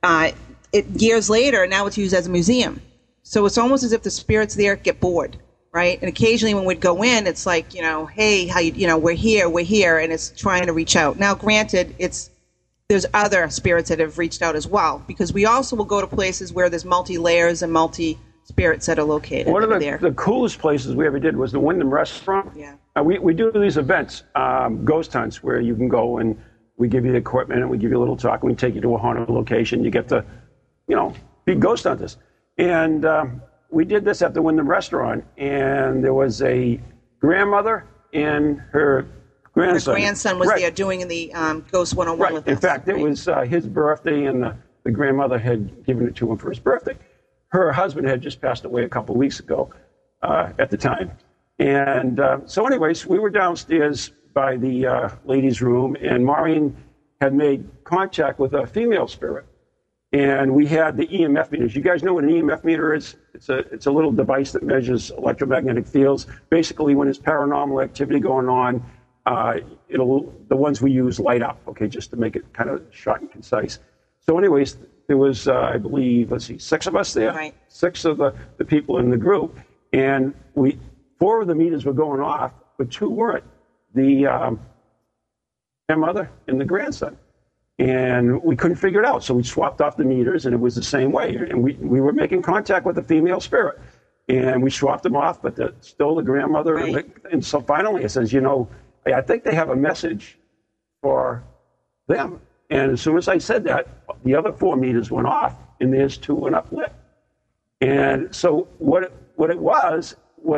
Speaker 4: years later, now it's used as a museum. So it's almost as if the spirits there get bored, right? And occasionally when we'd go in, it's like, hey, how we're here, and it's trying to reach out. Now, granted, there's other spirits that have reached out as well, because we also will go to places where there's multi-layers and multi-spirits that are located.
Speaker 3: One of the coolest places we ever did was the Wyndham Restaurant.
Speaker 4: Yeah.
Speaker 3: We do these events, ghost hunts, where you can go and we give you the equipment and we give you a little talk and we take you to a haunted location. You get to, be ghost hunters. And we did this at the Wyndham Restaurant, and there was a grandmother and her grandson.
Speaker 4: Her grandson was there doing the Ghost 101 with us.
Speaker 3: In fact, it was his birthday, and the grandmother had given it to him for his birthday. Her husband had just passed away a couple of weeks ago at the time. And so anyways, we were downstairs by the ladies' room, and Maureen had made contact with a female spirit. And we had the EMF meters. You guys know what an EMF meter is? It's a little device that measures electromagnetic fields. Basically, when there's paranormal activity going on, the ones we use light up, okay, just to make it kind of short and concise. So anyways, there was, I believe, 6 of us there,
Speaker 4: right.
Speaker 3: 6 of the people in the group, and 4 of the meters were going off, but 2 weren't. The grandmother and the grandson. And we couldn't figure it out, so we swapped off the meters, and it was the same way. And we were making contact with the female spirit, and we swapped them off, but still the grandmother.
Speaker 4: Right.
Speaker 3: And so finally it says, I think they have a message for them. And as soon as I said that, the other 4 meters went off, and there's 2 went up lit. And so what it was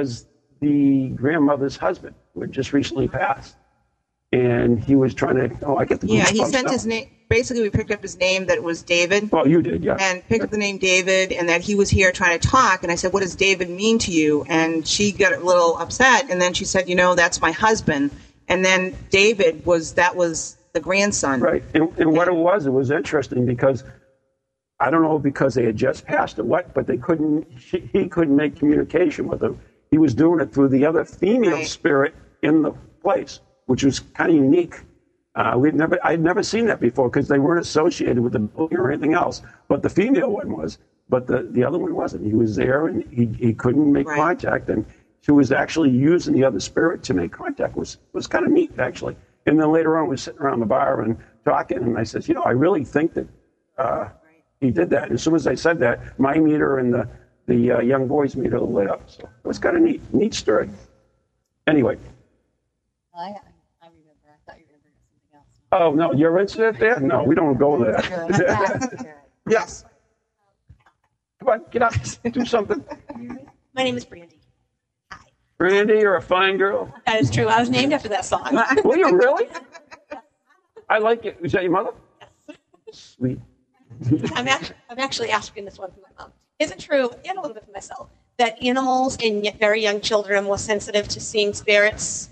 Speaker 3: the grandmother's husband, who had just recently passed. And he was trying to, I get the
Speaker 4: Yeah, he sent his name. Basically, we picked up his name, that it was David.
Speaker 3: Well, you did, yeah.
Speaker 4: And picked up the name David, and that he was here trying to talk. And I said, what does David mean to you? And she got a little upset. And then she said, that's my husband. And then David was the grandson.
Speaker 3: Right. And what it was interesting because, I don't know because they had just passed or what, but he couldn't make communication with him. He was doing it through the other female spirit in the place, which was kind of unique. I'd never seen that before because they weren't associated with the building or anything else. But the female one was, but the other one wasn't. He was there and he couldn't make contact, and she was actually using the other spirit to make contact. Was kind of neat actually. And then later on, we were sitting around the bar and talking, and I said, I really think that he did that. And as soon as I said that, my meter and the young boy's meter lit up. So it was kind of neat story. Anyway.
Speaker 5: I remember. I thought you were going to bring up something else.
Speaker 3: Oh, no, your incident there? No, we don't go there. Yes. Come on, get up. Do something.
Speaker 13: My name is Brandy. Hi.
Speaker 3: Brandy, you're a fine girl.
Speaker 13: That is true. I was named after that song.
Speaker 3: Were you really? I like it. Was that your mother?
Speaker 13: Yes.
Speaker 3: Sweet.
Speaker 13: I'm actually asking this one from my mom. Is it true, and a little bit for myself, that animals and very young children are more sensitive to seeing spirits?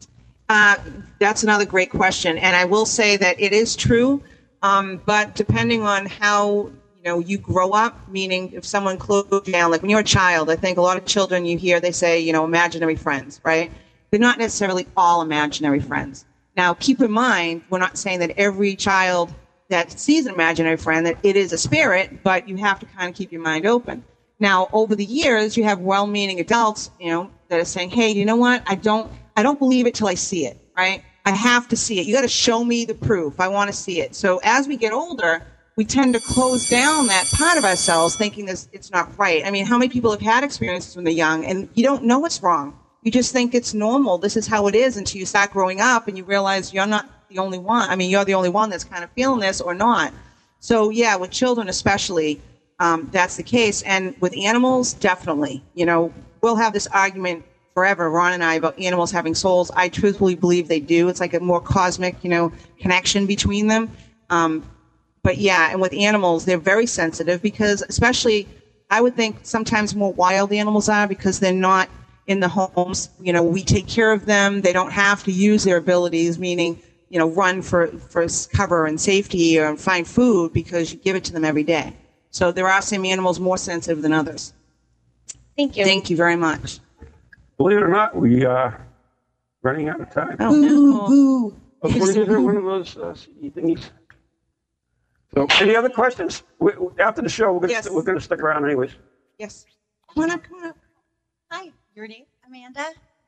Speaker 4: That's another great question, and I will say that it is true, but depending on how you grow up, meaning if someone closed you down, like when you're a child, I think a lot of children you hear they say imaginary friends, right? They're not necessarily all imaginary friends. Now, keep in mind, we're not saying that every child that sees an imaginary friend that it is a spirit, but you have to kind of keep your mind open. Now, over the years, you have well-meaning adults, that are saying, "Hey, you know what? I don't believe it till I see it, right? I have to see it. You got to show me the proof. I want to see it." So as we get older, we tend to close down that part of ourselves, thinking it's not right. I mean, how many people have had experiences when they're young, and you don't know it's wrong? You just think it's normal. This is how it is until you start growing up and you realize you're not the only one. I mean, you're the only one that's kind of feeling this or not. So yeah, with children especially, that's the case. And with animals, definitely. We'll have this argument forever, Ron and I, about animals having souls. I truthfully believe they do. It's like a more cosmic, connection between them. But yeah, and with animals, they're very sensitive because especially, I would think sometimes more wild animals are because they're not in the homes. You know, we take care of them. They don't have to use their abilities, meaning, you know, run for cover and safety or find food because you give it to them every day. So there are some animals more sensitive than others.
Speaker 13: Thank you.
Speaker 4: Thank you very much.
Speaker 3: Believe it or not, we are running out of time.
Speaker 4: Oh, no.
Speaker 3: We're going to do one of those thingies. So, any other questions? After the show, we're going to stick around anyways.
Speaker 4: Yes. Come on up.
Speaker 14: Hi, your name? Amanda.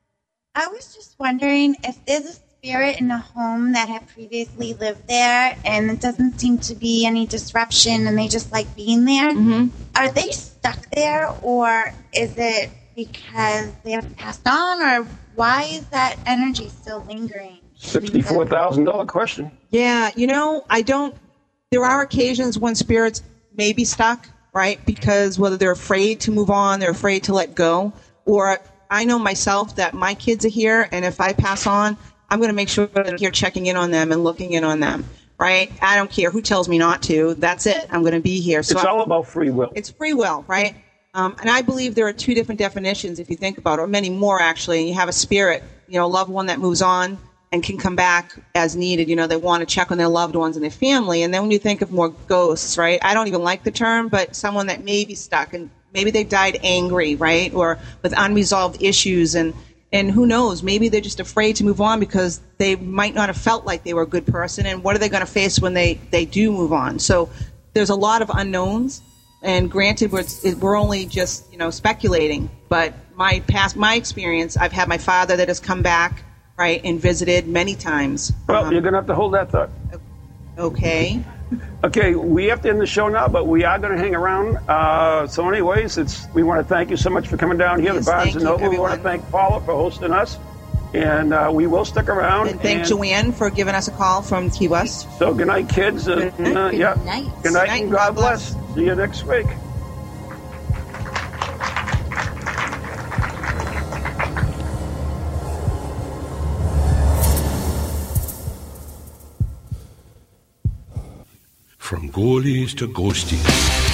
Speaker 14: I was just wondering if there's a spirit in a home that had previously lived there and it doesn't seem to be any disruption and they just like being there.
Speaker 4: Mm-hmm.
Speaker 14: Are they stuck there, or is it because they have passed on, or why is that energy still lingering?
Speaker 3: $64,000 question.
Speaker 4: Yeah, you know, there are occasions when spirits may be stuck, right? Because whether they're afraid to move on, they're afraid to let go, or I know myself that my kids are here, and if I pass on, I'm going to make sure that I'm here checking in on them and looking in on them, right? I don't care who tells me not to. That's it. I'm going to be here. So
Speaker 3: it's all about free will.
Speaker 4: It's free will, right? And I believe there are two different definitions, if you think about it, or many more, actually. You have a spirit, you know, a loved one that moves on and can come back as needed. You know, they want to check on their loved ones and their family. And then when you think of more ghosts, right? I don't even like the term, but someone that may be stuck and maybe they died angry, right? Or with unresolved issues. And who knows, maybe they're just afraid to move on because they might not have felt like they were a good person. And what are they going to face when they do move on? So there's a lot of unknowns. And granted, we're only just, you know, speculating. But my experience, I've had my father that has come back, right, and visited many times.
Speaker 3: Well, you're going to have to hold that thought.
Speaker 4: Okay.
Speaker 3: Okay, we have to end the show now, but we are going to hang around. So anyways, we want to thank you so much for coming down here to Barnes & Noble. We want to thank Paula for hosting us. And we will stick around.
Speaker 4: And thank Joanne for giving us a call from Key West.
Speaker 3: So good night, kids. Good night. Good night and God bless. See you next week.
Speaker 9: From ghoulies to ghosties.